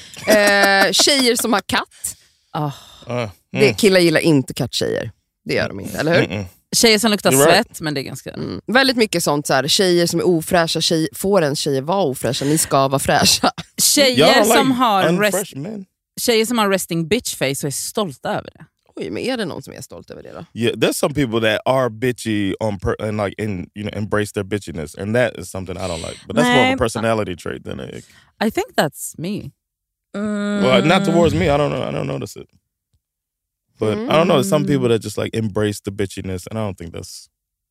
Speaker 4: Eh, tjejer som har katt.
Speaker 2: Ah.
Speaker 3: Uh,
Speaker 4: Det, killar gillar inte katttjejer. Det gör de inte, eller hur?
Speaker 3: mm-mm.
Speaker 2: Tjejer som luktar
Speaker 3: You're right.
Speaker 2: svett, men det är ganska...
Speaker 4: Mm. Väldigt mycket sånt så här, tjejer som är ofräscha, tjej, får en tjejer vara ofräscha, ni ska vara fräscha.
Speaker 2: Tjejer
Speaker 3: Y'all
Speaker 2: som,
Speaker 3: like
Speaker 2: har rest,
Speaker 3: unfresh men.
Speaker 2: tjejer som har resting bitch face och är stolta över det.
Speaker 4: Oj, men är det någon som är stolt över det då?
Speaker 3: Yeah, there's some people that are bitchy on per and like in you know embrace their bitchiness, and that is something I don't like. But that's more of
Speaker 5: Nej.
Speaker 3: a personality trait than a.
Speaker 2: I think that's me.
Speaker 5: mm,
Speaker 3: Well, not towards me. I don't know. I don't notice it. But I don't know. There's some people that just like embrace the bitchiness, and I don't think that's.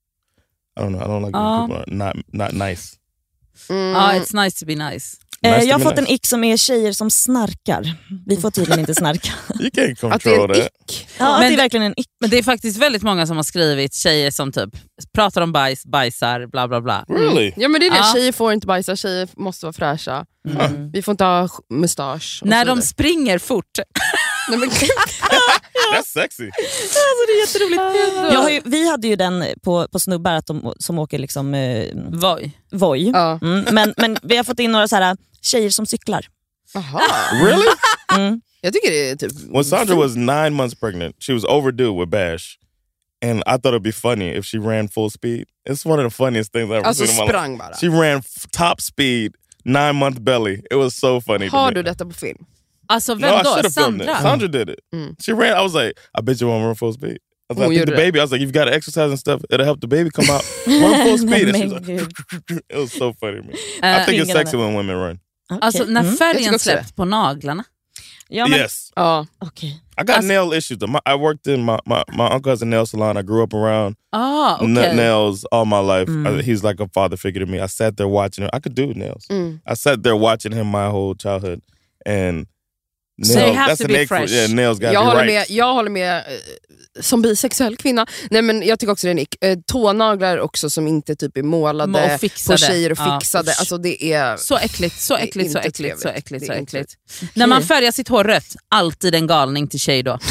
Speaker 3: I don't know. I don't like when
Speaker 2: Um,
Speaker 3: people are not not nice.
Speaker 4: Mm.
Speaker 2: Ja, it's nice to be nice.
Speaker 5: eh,
Speaker 3: Nice
Speaker 5: jag har
Speaker 3: to be
Speaker 5: fått en
Speaker 3: nice.
Speaker 5: ick som är tjejer som snarkar. Vi får tydligen inte snarka.
Speaker 3: You can't
Speaker 4: Att det är
Speaker 3: control
Speaker 4: en
Speaker 3: that.
Speaker 4: ick.
Speaker 5: Ja,
Speaker 2: Men-
Speaker 5: det är verkligen en ick.
Speaker 2: Men det är faktiskt väldigt många som har skrivit tjejer som typ pratar om bajs, bajsar, bla bla bla.
Speaker 3: Really?
Speaker 4: Ja, men det är det.
Speaker 2: Ja.
Speaker 4: Tjejer får inte bajsa, tjejer måste vara fräscha.
Speaker 2: Mm.
Speaker 4: Vi får inte ha sk- mustasch. och
Speaker 2: När
Speaker 4: så
Speaker 2: de
Speaker 4: vidare.
Speaker 2: springer fort.
Speaker 4: Nej, men,
Speaker 3: That's sexy.
Speaker 5: Alltså, det är jätteroligt. Jag har ju, vi hade ju den på, på snubbar att de, som åker liksom eh,
Speaker 2: Voj.
Speaker 5: Voi.
Speaker 4: ja.
Speaker 5: Mm, men, men vi har fått in några så här tjejer som cyklar.
Speaker 4: Aha.
Speaker 3: Really?
Speaker 5: Mm.
Speaker 4: Jag tycker det är typ...
Speaker 3: When Sandra was nine months pregnant, she was overdue with Bash, and I thought it'd be funny if she ran full speed. It's one of the funniest things I've ever
Speaker 4: Alltså
Speaker 3: seen in my life.
Speaker 4: sprang bara.
Speaker 3: She ran f- top speed, nine month belly. It was so funny. to
Speaker 4: Har
Speaker 3: me.
Speaker 4: du detta på film?
Speaker 2: Alltså
Speaker 3: No,
Speaker 2: vem
Speaker 3: I should
Speaker 2: då?
Speaker 3: have filmed it.
Speaker 2: Sandra?
Speaker 3: Sandra did it.
Speaker 4: Mm.
Speaker 3: She ran. I was like, I bet you won't run full speed. I, was like,
Speaker 4: Oh,
Speaker 3: I think
Speaker 4: you
Speaker 3: the
Speaker 4: did.
Speaker 3: baby. I was like, you've got to exercise and stuff. It'll help the baby come out. Run full speed. And she was
Speaker 5: Men
Speaker 3: like, it was so funny to me.
Speaker 2: Eh,
Speaker 3: I think it's
Speaker 5: fingrarna.
Speaker 3: sexy when women run.
Speaker 5: Okay.
Speaker 2: Alltså när
Speaker 5: Mm.
Speaker 4: Jag tycker
Speaker 2: färgen
Speaker 4: också det.
Speaker 2: släppt på naglarna.
Speaker 5: Ja, men,
Speaker 3: Yes,
Speaker 4: Ja.
Speaker 5: okej.
Speaker 3: I got
Speaker 2: Alltså-
Speaker 3: nail issues. My, I worked in my, my my uncle has a nail salon. I grew up around
Speaker 2: Ah, okej.
Speaker 3: n- nails all my life.
Speaker 5: Mm.
Speaker 3: I, he's like a father figure to me. I sat there watching him. I could do nails.
Speaker 4: Mm.
Speaker 3: I sat there watching him my whole childhood, and Nail.
Speaker 2: They have
Speaker 3: That's
Speaker 2: to
Speaker 3: an
Speaker 2: be
Speaker 3: egg for,
Speaker 2: fresh.
Speaker 3: yeah, nails gotta
Speaker 4: Jag
Speaker 3: be
Speaker 4: håller,
Speaker 3: right.
Speaker 4: med, jag håller med eh, som bisexuell kvinna. Nej, men jag tycker också det är nick. Eh, tånaglar också som inte typ är målade
Speaker 2: Och fixade.
Speaker 4: på tjejer och
Speaker 2: Ja.
Speaker 4: fixade. Alltså det är...
Speaker 2: Så äckligt, så
Speaker 4: Det är
Speaker 2: äckligt, så
Speaker 4: inte
Speaker 2: äckligt, så
Speaker 4: trevligt.
Speaker 2: äckligt,
Speaker 4: Det
Speaker 2: så
Speaker 4: är inte
Speaker 2: äckligt. När man färgar sitt hår rött, alltid en galning till tjej då.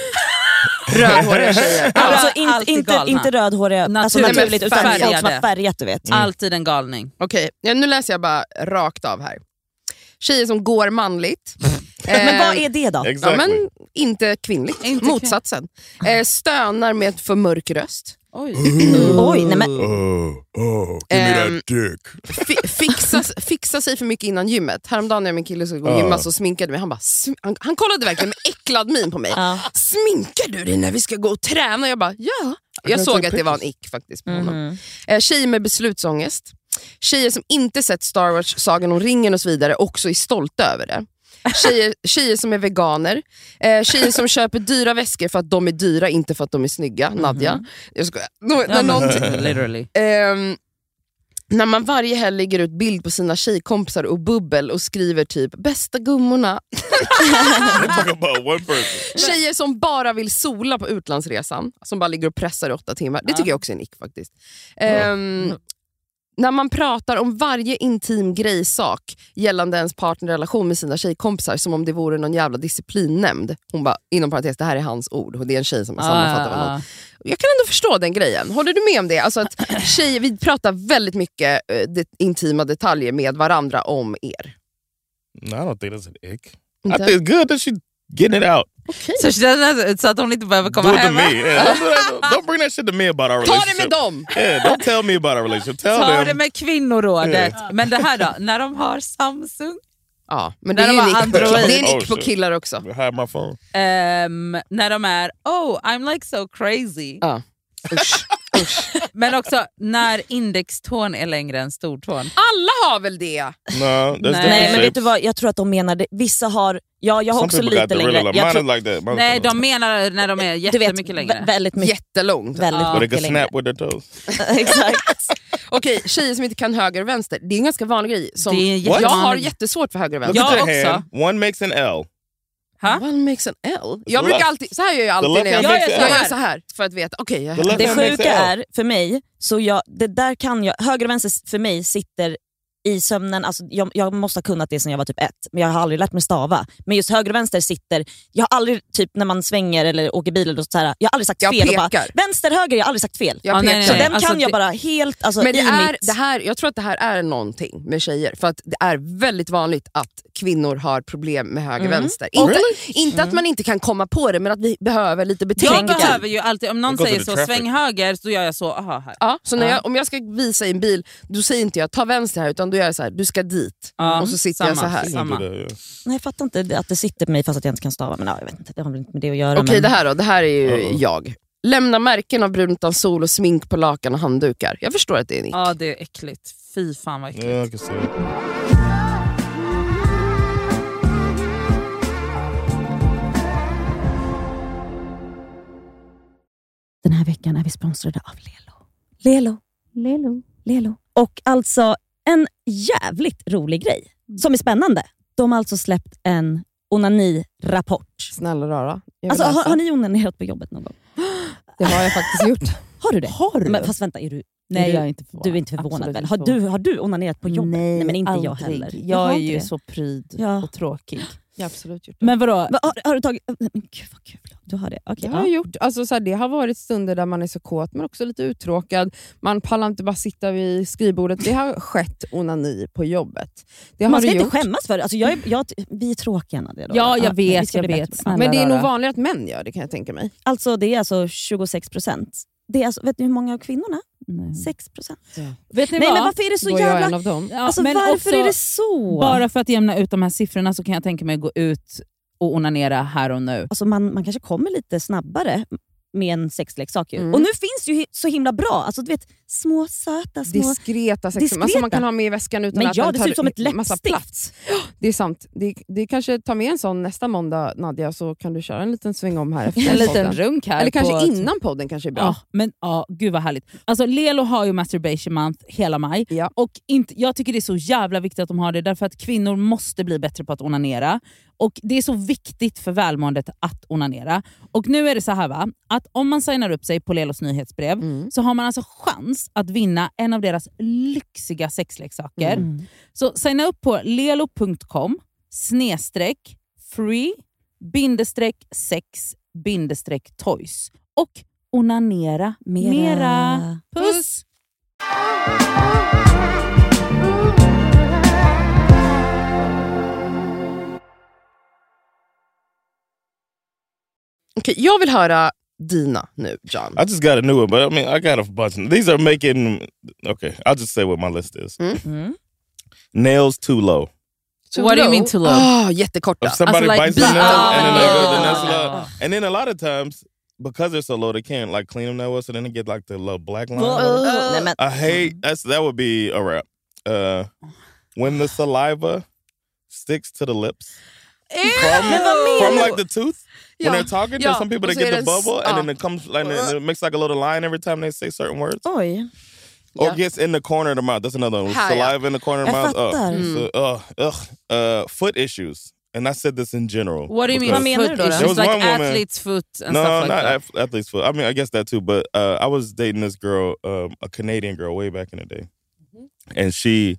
Speaker 4: Rödhåriga tjejer.
Speaker 5: Alltså
Speaker 2: Ja,
Speaker 5: inte,
Speaker 2: alltid
Speaker 5: inte,
Speaker 2: galna.
Speaker 5: inte rödhåriga, alltså
Speaker 2: Naturligt.
Speaker 5: naturligt, utan
Speaker 2: Färgade.
Speaker 5: folk som har färgat, du vet.
Speaker 2: Alltid en galning.
Speaker 4: Okej, ja, nu läser jag bara rakt av här. Tjejer som går manligt.
Speaker 5: Men vad
Speaker 4: Eh,
Speaker 5: är det då?
Speaker 3: Exactly.
Speaker 4: Ja, men inte kvinnligt.
Speaker 2: Inte
Speaker 4: Motsatsen. Eh, stönar med för mörk röst.
Speaker 2: Oj.
Speaker 5: Oj, nej men
Speaker 3: Oh, oh, give me
Speaker 4: Ehm,
Speaker 3: that dick.
Speaker 4: Fi- fixa, fixa sig för mycket innan gymmet. Häromdagen när min kille skulle gå och gymma så sminkade mig. Han, bara, sm- han, han kollade verkligen med äcklad min på mig.
Speaker 5: Ja.
Speaker 4: Sminkar du dig när vi ska gå och träna? Jag bara, ja. Jag
Speaker 3: can
Speaker 4: såg
Speaker 3: take
Speaker 4: att det var en ick faktiskt på honom. Eh, tjejer med beslutsångest. Tjejer som inte sett Star Wars, Sagan om ringen och så vidare också är stolta över det. Tjejer, tjejer som är veganer. Eh, tjejer som köper dyra väskor för att de är dyra, inte för att de är snygga. Nadja. Jag skojar. Nå- när någon-
Speaker 2: Literally.
Speaker 4: Ehm, när man varje helg lägger ut bild på sina tjejkompisar och bubbel och skriver typ bästa gummorna.
Speaker 3: We're talking about one person.
Speaker 4: Tjejer som bara vill sola på utlandsresan, som bara ligger och pressar i åtta timmar. Det tycker jag också är nick faktiskt. Ehm, när man pratar om varje intim grejsak gällande ens partnerrelation med sina tjejkompisar som om det vore någon jävla disciplinnämnd. Hon bara, inom parentes, det här är hans ord och det är en tjej som sammanfattar
Speaker 2: Ah,
Speaker 4: honom.
Speaker 2: ah.
Speaker 4: Jag kan ändå förstå den grejen. Håller du med om det? Alltså att tjejer, vi pratar väldigt mycket eh, det, intima detaljer med varandra om er.
Speaker 3: No, I don't think that's an ick.
Speaker 4: Inte?
Speaker 3: I think it's good that she's getting it out.
Speaker 2: Så, doesn't- så att hon inte behöver
Speaker 3: Do
Speaker 2: komma
Speaker 3: it to
Speaker 2: hem.
Speaker 3: me. Yeah, don't, do that- don't bring that shit to me about our
Speaker 4: Ta
Speaker 3: relationship.
Speaker 4: det med dem!
Speaker 3: Yeah, don't tell me about our relationship. Tell
Speaker 2: Ta
Speaker 3: them.
Speaker 2: det med kvinnorådet. Men det här då, när de har Samsung.
Speaker 4: Ja, men det
Speaker 2: När
Speaker 4: är
Speaker 2: de
Speaker 4: ju
Speaker 2: var
Speaker 4: nick på,
Speaker 2: Android.
Speaker 4: det är
Speaker 3: Oh,
Speaker 4: nick på
Speaker 3: shit.
Speaker 4: killar också.
Speaker 3: I have my phone.
Speaker 2: Ehm, när de är, oh I'm like so crazy.
Speaker 4: Ja. Usch. Usch.
Speaker 2: Men också när indextån är längre än stortån.
Speaker 4: Alla har väl det?
Speaker 3: No, there's different
Speaker 5: Nej, men vet
Speaker 3: shapes.
Speaker 5: du vad, jag tror att de menar det. Vissa har, ja jag har
Speaker 3: Some
Speaker 5: också
Speaker 3: people got
Speaker 5: lite
Speaker 3: the
Speaker 5: längre.
Speaker 3: real.
Speaker 5: Jag
Speaker 3: Mine
Speaker 5: tror,
Speaker 3: is like that. Mine is
Speaker 2: Nej,
Speaker 3: like that.
Speaker 2: de menar när de är
Speaker 5: du vet,
Speaker 2: jättemycket längre.
Speaker 5: vä- väldigt mycket.
Speaker 4: Jättelångt.
Speaker 5: Väldigt
Speaker 2: Ja.
Speaker 3: But they
Speaker 5: mycket
Speaker 3: can
Speaker 5: längre.
Speaker 3: snap with their toes.
Speaker 5: Exakt.
Speaker 4: Okej, tjejer som inte kan höger och vänster. Det är en ganska vanlig grej. Som
Speaker 2: Det är en
Speaker 4: jag
Speaker 2: jättevanlig-
Speaker 4: har jättesvårt för höger och
Speaker 3: Look
Speaker 4: vänster.
Speaker 2: Ja,
Speaker 3: at your
Speaker 2: också.
Speaker 3: hand. One makes an L.
Speaker 2: Ha?
Speaker 4: One makes an L. Jag
Speaker 3: The
Speaker 4: brukar
Speaker 3: left-
Speaker 4: alltid, så här gör jag alltid
Speaker 3: left
Speaker 4: när jag,
Speaker 3: hand
Speaker 4: jag,
Speaker 3: makes
Speaker 4: jag
Speaker 3: an
Speaker 4: gör
Speaker 3: L.
Speaker 4: så här för att veta. Okej, jag
Speaker 3: The left
Speaker 5: Det
Speaker 3: hand makes
Speaker 5: sjuka
Speaker 3: an L.
Speaker 5: är, för mig, så jag, det där kan jag, höger och vänster för mig sitter i sömnen, alltså jag, jag måste ha kunnat det sedan jag var typ ett, men jag har aldrig lärt mig stava. Men just höger och vänster sitter, jag har aldrig, typ när man svänger eller åker bil eller så här, jag har aldrig sagt
Speaker 4: Jag
Speaker 5: fel. Och bara,
Speaker 4: pekar.
Speaker 5: vänster, höger, jag har aldrig sagt fel.
Speaker 4: jag
Speaker 2: Ja,
Speaker 4: pekar.
Speaker 2: nej, nej,
Speaker 5: Så
Speaker 2: nej.
Speaker 5: den
Speaker 2: Alltså,
Speaker 5: kan jag
Speaker 2: det-
Speaker 5: bara helt, alltså
Speaker 4: Men det
Speaker 5: i
Speaker 4: är,
Speaker 5: mitt...
Speaker 4: det här, jag tror att det här är någonting med tjejer. För att det är väldigt vanligt att kvinnor har problem med höger
Speaker 5: Mm.
Speaker 4: vänster. Inte, inte att man inte kan komma på det, men att vi behöver lite
Speaker 2: Jag
Speaker 4: betänka.
Speaker 2: behöver ju alltid, om någon
Speaker 3: It goes
Speaker 2: säger
Speaker 3: with the
Speaker 2: så,
Speaker 3: traffic.
Speaker 2: sväng höger, så gör jag så, aha här.
Speaker 4: Ja, så när
Speaker 2: Ja.
Speaker 4: jag, om jag ska visa i en bil, då säger inte jag ta vänster här, utan då gör jag så här, du ska dit.
Speaker 2: Ja,
Speaker 4: Och så sitter jag
Speaker 2: samma.
Speaker 4: så här.
Speaker 3: You can do
Speaker 2: Samma.
Speaker 3: that, yeah.
Speaker 5: Nej, jag fattar inte att det sitter på mig fast att jag inte kan stava. Men ja, jag vet inte, det har väl inte med det att göra.
Speaker 4: Okej,
Speaker 5: men...
Speaker 4: det här då, det här är ju
Speaker 3: Uh-oh.
Speaker 4: jag. Lämna märken av brunt utan sol och smink på lakan och handdukar. Jag förstår att det är nick.
Speaker 2: Ja, det är äckligt. Fy fan vad äckligt.
Speaker 3: Yeah, I can see it.
Speaker 5: Den här veckan är vi sponsrade av Lelo. Lelo. Lelo. Lelo. Och alltså en jävligt rolig grej som är spännande. De har alltså släppt en onani-rapport.
Speaker 4: Snälla rara. Jag vill
Speaker 5: Alltså, har,
Speaker 4: läsa.
Speaker 5: har ni onanerat på jobbet någon gång?
Speaker 4: Det har jag faktiskt gjort.
Speaker 5: Har du det?
Speaker 6: Har du?
Speaker 5: Men, fast vänta, är du,
Speaker 6: Nej,
Speaker 5: är du,
Speaker 6: jag är inte förvånad.
Speaker 5: du är inte förvånad
Speaker 6: Absolut
Speaker 5: väl?
Speaker 6: inte
Speaker 5: Har du,
Speaker 6: förvånad.
Speaker 5: har du onanerat på jobbet?
Speaker 6: Nej,
Speaker 5: men inte jag
Speaker 6: aldrig.
Speaker 5: heller.
Speaker 6: Jag
Speaker 5: har
Speaker 6: är
Speaker 5: inte
Speaker 6: ju
Speaker 5: det.
Speaker 6: så pryd
Speaker 5: Ja.
Speaker 6: och tråkig.
Speaker 4: Jag har absolut gjort det.
Speaker 6: Men vadå?
Speaker 5: Va, har, har du tagit... Men gud vad kul. Du har det? Okej.
Speaker 6: Det
Speaker 5: ja.
Speaker 6: har jag gjort. Alltså, så här, det har varit stunder där man är så kåt men också lite uttråkad. Man pallar inte bara sitta vid skrivbordet. Det har skett onani på jobbet. Det har
Speaker 5: Man ska
Speaker 6: det
Speaker 5: inte
Speaker 6: gjort.
Speaker 5: skämmas för det. Alltså, jag är, jag, vi är tråkiga Nadia, då.
Speaker 6: Ja, jag
Speaker 5: vi
Speaker 6: vet,
Speaker 5: ska
Speaker 6: jag
Speaker 5: bli
Speaker 6: vet.
Speaker 5: bättre på det.
Speaker 6: Snälla
Speaker 4: Men det är nog
Speaker 6: rara.
Speaker 4: vanligare att män gör det, kan jag tänka mig.
Speaker 5: Alltså det är alltså tjugosex procent. Det är alltså, vet ni hur många av kvinnorna?
Speaker 6: Nej.
Speaker 5: sex procent.
Speaker 6: Vet ni
Speaker 5: Nej
Speaker 6: vad?
Speaker 5: men varför är det så
Speaker 4: Då är jag
Speaker 5: jävla...
Speaker 4: en av dem.
Speaker 6: Ja,
Speaker 5: Alltså
Speaker 6: men
Speaker 5: varför
Speaker 6: också,
Speaker 5: är det så?
Speaker 2: Bara för att jämna ut de här siffrorna så kan jag tänka mig att gå ut och onanera här och nu.
Speaker 5: Alltså man, man kanske kommer lite snabbare med en sexleksak. Ju.
Speaker 4: Mm.
Speaker 5: Och nu finns det ju hi- så himla bra. Alltså, du vet, små söta, små...
Speaker 6: Diskreta sexleksaker.
Speaker 5: Diskreta.
Speaker 6: Alltså man kan ha med i väskan utan
Speaker 5: Men
Speaker 6: att
Speaker 5: ja,
Speaker 6: den
Speaker 5: det
Speaker 6: tar
Speaker 5: ser ut som ett
Speaker 6: massa
Speaker 5: läppstift.
Speaker 6: plats. Det är sant. Det, det kanske tar med en sån nästa måndag, Nadja, så kan du köra en liten sväng om här efter
Speaker 2: En liten
Speaker 6: podden.
Speaker 2: runk här.
Speaker 6: Eller kanske
Speaker 2: på...
Speaker 6: innan podden kanske är bra.
Speaker 7: Ja, men ja, gud vad härligt. Alltså Lelo har ju masturbation month hela maj.
Speaker 6: Ja.
Speaker 7: Och inte, jag tycker det är så jävla viktigt att de har det, därför att kvinnor måste bli bättre på att onanera. Och det är så viktigt för välmåendet att onanera. Och nu är det så här va, att om man signar upp sig på Lelos nyhetsbrev
Speaker 6: Mm.
Speaker 7: så har man alltså chans att vinna en av deras lyxiga sexleksaker.
Speaker 6: Mm.
Speaker 7: Så signa upp på lelo punkt com snedstreck free bindestreck sex bindestreck toys och onanera mera.
Speaker 5: Mera.
Speaker 7: Puss!
Speaker 4: Okej, jag vill höra dina nu, John.
Speaker 3: I just got a new one, but I mean, I got a bunch. These are making... Okay, I'll just say what my list is.
Speaker 7: Mm.
Speaker 3: Nails too low.
Speaker 4: Too
Speaker 2: What do you
Speaker 4: low?
Speaker 2: mean too low?
Speaker 4: Ah, jättekorta.
Speaker 3: If somebody
Speaker 2: like
Speaker 3: bites
Speaker 2: the-
Speaker 3: their nail and then they go, then
Speaker 2: Ah.
Speaker 3: that's a lot. And then a lot of times, because they're so low, they can't like clean them that well, so then they get like the little black line.
Speaker 5: Nej, men,
Speaker 3: I hate that's that would be a wrap. Uh, when the saliva sticks to the lips from, from like the tooth when
Speaker 4: Ja.
Speaker 3: they're talking.
Speaker 4: Ja.
Speaker 3: There's some people
Speaker 4: Och
Speaker 3: that
Speaker 4: så
Speaker 3: get
Speaker 4: är
Speaker 3: the
Speaker 4: det-
Speaker 3: bubble and
Speaker 4: ja.
Speaker 3: then it comes like and it makes like a little line every time they say certain words.
Speaker 5: oj.
Speaker 3: Or
Speaker 4: Yeah.
Speaker 3: gets in the corner of the mouth. That's another one.
Speaker 4: Här, ja.
Speaker 3: Saliva in the corner of the
Speaker 5: Jag
Speaker 3: mouth. Ugh.
Speaker 5: fattar.
Speaker 3: So, ugh, ugh. Uh, foot issues. And I said this in general.
Speaker 2: What do you mean
Speaker 3: because-
Speaker 5: Vad menar
Speaker 2: foot
Speaker 5: du då?
Speaker 2: issues?
Speaker 3: There was
Speaker 2: Like
Speaker 3: one woman-
Speaker 2: athlete's foot and
Speaker 3: no,
Speaker 2: stuff like
Speaker 3: not
Speaker 2: that?
Speaker 3: ath- athlete's foot. I mean, I guess that too. But uh, I was dating this girl, um, a Canadian girl, way back in the day, and she,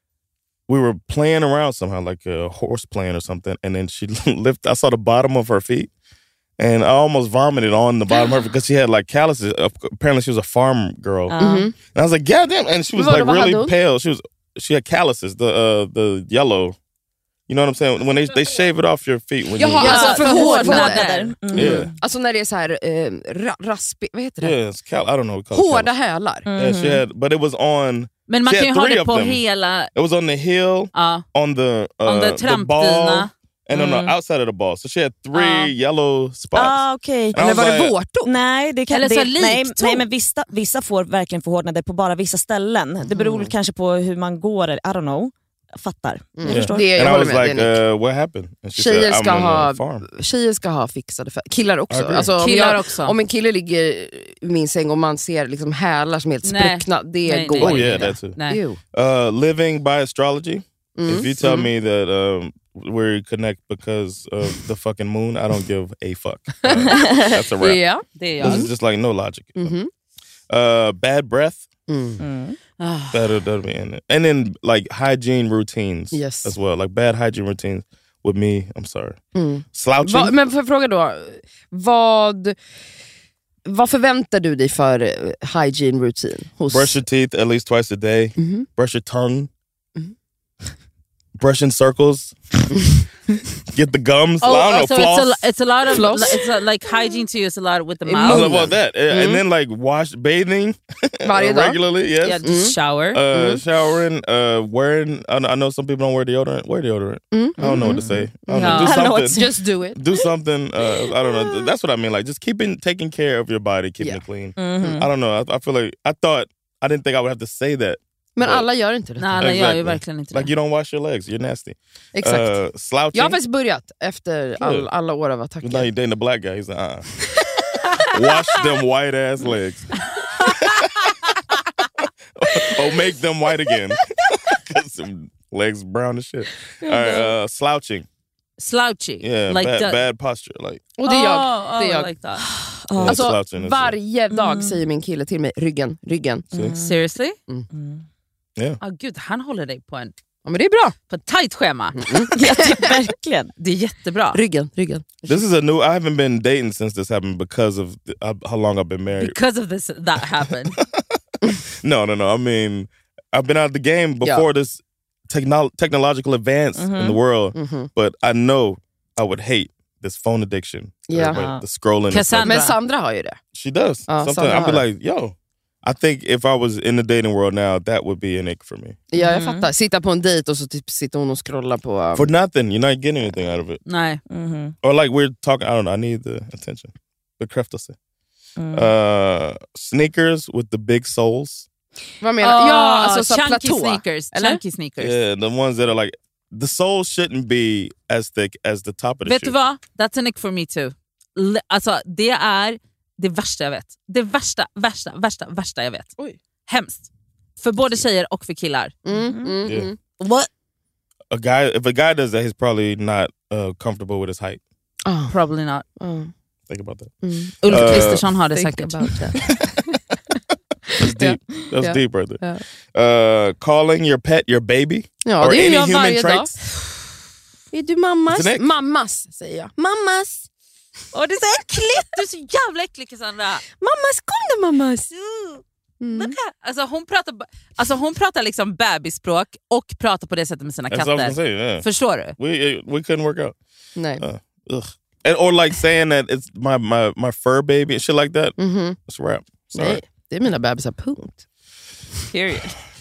Speaker 3: we were playing around somehow, like a horse playing or something, and then she lifted. I saw the bottom of her feet, and I almost vomited on the bottom of her because she had like calluses. Uh, apparently, she was a farm girl,
Speaker 5: Ja.
Speaker 4: Mhm.
Speaker 3: and I was like, "God damn!" And she was
Speaker 4: Vad-
Speaker 3: like
Speaker 4: vad
Speaker 3: really
Speaker 4: hade hon?
Speaker 3: pale. She was, she had calluses, the uh, the yellow. You know what I'm saying? When they they shave it off your feet when
Speaker 4: Jaha,
Speaker 3: you.
Speaker 4: alltså
Speaker 2: Ja,
Speaker 4: för
Speaker 2: för
Speaker 4: hårdnader.
Speaker 5: Mm.
Speaker 3: Yeah,
Speaker 4: Alltså när det är så här eh, ra raspig, vad heter det?
Speaker 3: yeah, it's cal- I don't know. What we call it,
Speaker 4: Hårda
Speaker 3: callus.
Speaker 4: hälar.
Speaker 3: Yeah, she had, but it was on.
Speaker 2: Men man
Speaker 3: She
Speaker 2: kan ju
Speaker 3: had
Speaker 2: ha
Speaker 3: three
Speaker 2: det
Speaker 3: of
Speaker 2: på
Speaker 3: them.
Speaker 2: hela...
Speaker 3: It was on the heel,
Speaker 2: Ja.
Speaker 3: on the uh,
Speaker 2: On the
Speaker 3: the
Speaker 2: trampdyna.
Speaker 3: ball, and on
Speaker 2: Mm.
Speaker 3: the outside of the ball. So she had three
Speaker 2: Ja.
Speaker 3: yellow spots.
Speaker 5: Ah, okej.
Speaker 3: And I
Speaker 4: Eller
Speaker 3: was
Speaker 4: var det
Speaker 3: like,
Speaker 4: vårtor?
Speaker 5: Nej, det kan,
Speaker 2: Eller så
Speaker 5: det,
Speaker 2: likt
Speaker 5: nej,
Speaker 2: tå.
Speaker 5: nej, men vissa, vissa får verkligen förhårdnader på bara vissa ställen. Det beror kanske på hur man går, I don't know. Jag fattar. Jag
Speaker 3: Yeah.
Speaker 5: förstår.
Speaker 4: Det, jag
Speaker 3: And I
Speaker 4: håller
Speaker 3: was
Speaker 4: med,
Speaker 3: like,
Speaker 4: det är Nick.
Speaker 3: uh, what happened? And she
Speaker 4: Tjejer
Speaker 3: said,
Speaker 4: ska,
Speaker 3: I'm in
Speaker 4: ha,
Speaker 3: a farm.
Speaker 4: tjejer ska ha fixade fötter. Killar också.
Speaker 3: agree.
Speaker 4: Alltså, om,
Speaker 2: Killar
Speaker 4: jag,
Speaker 2: också.
Speaker 4: om en kille ligger i min säng och man ser liksom hälar som är helt
Speaker 2: Nej.
Speaker 4: spruckna, det
Speaker 2: Nej,
Speaker 4: går
Speaker 2: nej.
Speaker 3: Oh
Speaker 4: inte.
Speaker 3: yeah, that too.
Speaker 2: Nej.
Speaker 4: Ew.
Speaker 3: Uh, living by astrology.
Speaker 4: Mm.
Speaker 3: If you tell
Speaker 4: Mm.
Speaker 3: me that um, we connect because of the fucking moon, I don't give a fuck. Uh, that's a wrap.
Speaker 4: Ja.
Speaker 7: Det är
Speaker 3: This
Speaker 7: jag.
Speaker 3: is just like no logic.
Speaker 4: Mhm.
Speaker 3: Uh, bad breath.
Speaker 4: Mm.
Speaker 7: Mm.
Speaker 2: Ah.
Speaker 3: That'll, that'll be in it. And then like hygiene routines
Speaker 4: Yes.
Speaker 3: as well. Like bad hygiene routines with me. I'm sorry.
Speaker 4: Mm.
Speaker 3: Slouching.
Speaker 4: Va, men får jag fråga då, vad, vad förväntar du dig för eh, hygiene routine? Hos...
Speaker 3: Brush your teeth at least twice a day.
Speaker 4: Mhm.
Speaker 3: Brush your tongue.
Speaker 4: Mhm.
Speaker 3: Brush in circles. Get the gums. I
Speaker 2: Oh,
Speaker 3: don't know,
Speaker 2: so
Speaker 3: floss.
Speaker 2: it's a, it's a lot of
Speaker 4: Floss?
Speaker 2: it's a, like hygiene to you. It's a lot with the
Speaker 3: I
Speaker 2: mouth.
Speaker 3: don't know about that. Uh,
Speaker 4: Mhm.
Speaker 3: And then like wash, bathing
Speaker 4: Varje dag?
Speaker 3: regularly. Yes.
Speaker 2: Yeah, just shower.
Speaker 3: Uh, Showering, uh, wearing. I know, I know some people don't wear deodorant. Wear deodorant.
Speaker 4: Mm.
Speaker 3: I don't know what to say. I don't
Speaker 2: No.
Speaker 3: know. Do
Speaker 5: I don't know what
Speaker 3: something.
Speaker 4: Just do it.
Speaker 3: Do something. Uh, I don't know. That's what I mean. Like just keeping, taking care of your body, keeping
Speaker 4: Yeah.
Speaker 3: it clean.
Speaker 5: Mhm.
Speaker 3: I don't know. I, I feel like I thought I didn't think I would have to say that.
Speaker 4: Men
Speaker 3: But-
Speaker 4: alla gör inte det.
Speaker 2: Nej, alla gör ju
Speaker 3: Exactly.
Speaker 2: verkligen inte det.
Speaker 3: Like you don't wash your legs. You're nasty.
Speaker 4: Exakt.
Speaker 3: Uh, slouching.
Speaker 4: Jag har faktiskt börjat efter all,
Speaker 3: Good.
Speaker 4: alla år av
Speaker 3: Now
Speaker 4: attacker.
Speaker 3: you're dating a black guy. He's like, uh. Wash them white ass legs. Or make them white again. Because some legs brown as shit. All right, uh, slouching.
Speaker 2: Slouchy.
Speaker 3: Yeah,
Speaker 2: like
Speaker 3: bad,
Speaker 2: that.
Speaker 3: bad posture. Like
Speaker 4: Och det är jag.
Speaker 2: Oh,
Speaker 4: Det är
Speaker 2: oh,
Speaker 4: jag.
Speaker 2: like that.
Speaker 3: yeah,
Speaker 4: Alltså,
Speaker 3: slouching is-
Speaker 4: varje dag säger min kille till mig, ryggen, ryggen.
Speaker 3: See?
Speaker 2: Seriously?
Speaker 3: Yeah.
Speaker 2: Oh, gud, han håller dig på en
Speaker 4: Ja, men det är bra.
Speaker 2: på ett tajt schema.
Speaker 5: Jag tycker verkligen.
Speaker 2: Det är jättebra.
Speaker 4: Ryggen, ryggen.
Speaker 3: This is a new. I haven't been dating since this happened because of the, uh, how long I've been married.
Speaker 2: Because of this, that happened.
Speaker 3: No, no, no. I mean, I've been out of the game before this techno- technological advance in the world,
Speaker 4: Mhm.
Speaker 3: but I know I would hate this phone addiction.
Speaker 4: Yeah.
Speaker 3: Everybody- the scrolling. and stuff.
Speaker 2: Cassandra.
Speaker 4: Men Sandra har ju det.
Speaker 3: She does.
Speaker 4: Uh,
Speaker 3: Sometimes
Speaker 4: Sandra
Speaker 3: I'll be
Speaker 4: har det.
Speaker 3: like, yo, I think if I was in the dating world now, that would be an ick for me.
Speaker 4: Ja, jag fattar. Sitta på en dejt och så typ sitter hon och scrollar på... um,
Speaker 3: For nothing. You're not getting anything out of it.
Speaker 2: Nej.
Speaker 5: Mhm.
Speaker 3: Or like we're talking, I don't know, I need the attention. Bekräftelse.
Speaker 5: Mm.
Speaker 3: Uh, sneakers with the big soles.
Speaker 4: Vad menar du?
Speaker 2: Oh,
Speaker 4: Ja, alltså så
Speaker 2: chunky
Speaker 4: platå.
Speaker 2: sneakers.
Speaker 4: Eller?
Speaker 2: Chunky sneakers.
Speaker 3: Yeah, the ones that are like the sole shouldn't be as thick as the top of the
Speaker 2: Vet
Speaker 3: shoe.
Speaker 2: du vad? That's a nick for me too. L- alltså det är det värsta jag vet. Det värsta, värsta, värsta, värsta jag vet.
Speaker 4: Oj.
Speaker 2: Hemskt. För både tjejer och för killar.
Speaker 4: Mm, mm,
Speaker 3: Yeah.
Speaker 4: mm.
Speaker 2: What?
Speaker 3: A guy, if a guy does that, he's probably not uh, comfortable with his height.
Speaker 4: Oh.
Speaker 2: Probably not.
Speaker 4: Oh.
Speaker 3: Think about that.
Speaker 4: Mm.
Speaker 2: Ulf
Speaker 3: Uh,
Speaker 2: Kristersson har det
Speaker 4: think
Speaker 2: säkert.
Speaker 4: about that.
Speaker 3: That's deep. That's
Speaker 4: Yeah.
Speaker 3: deep right there. Uh, calling your pet your baby.
Speaker 4: Ja,
Speaker 3: or
Speaker 4: det är
Speaker 3: any
Speaker 4: jag
Speaker 3: human
Speaker 4: varje dag.
Speaker 3: traits.
Speaker 4: Är du mammas?
Speaker 3: It's an ick.
Speaker 4: Mammas, säger jag. Mammas.
Speaker 2: Åh, det är så äckligt! Du är så jävla äcklig, Cassandra.
Speaker 4: Mammas, kom då mammas. Mm.
Speaker 2: Alltså, hon pratar, alltså hon pratar liksom bebisspråk och pratar på det sättet med sina
Speaker 3: That's what I was gonna
Speaker 2: katter.
Speaker 3: say. Yeah.
Speaker 2: Förstår du?
Speaker 3: We uh, we couldn't work out.
Speaker 4: Nej.
Speaker 3: Uh, ugh. And, or like saying that it's my my my fur baby and shit like that.
Speaker 4: Mhm.
Speaker 3: It's a wrap. Sorry.
Speaker 4: Nej, det är mina bebisar, punkt.
Speaker 2: Period.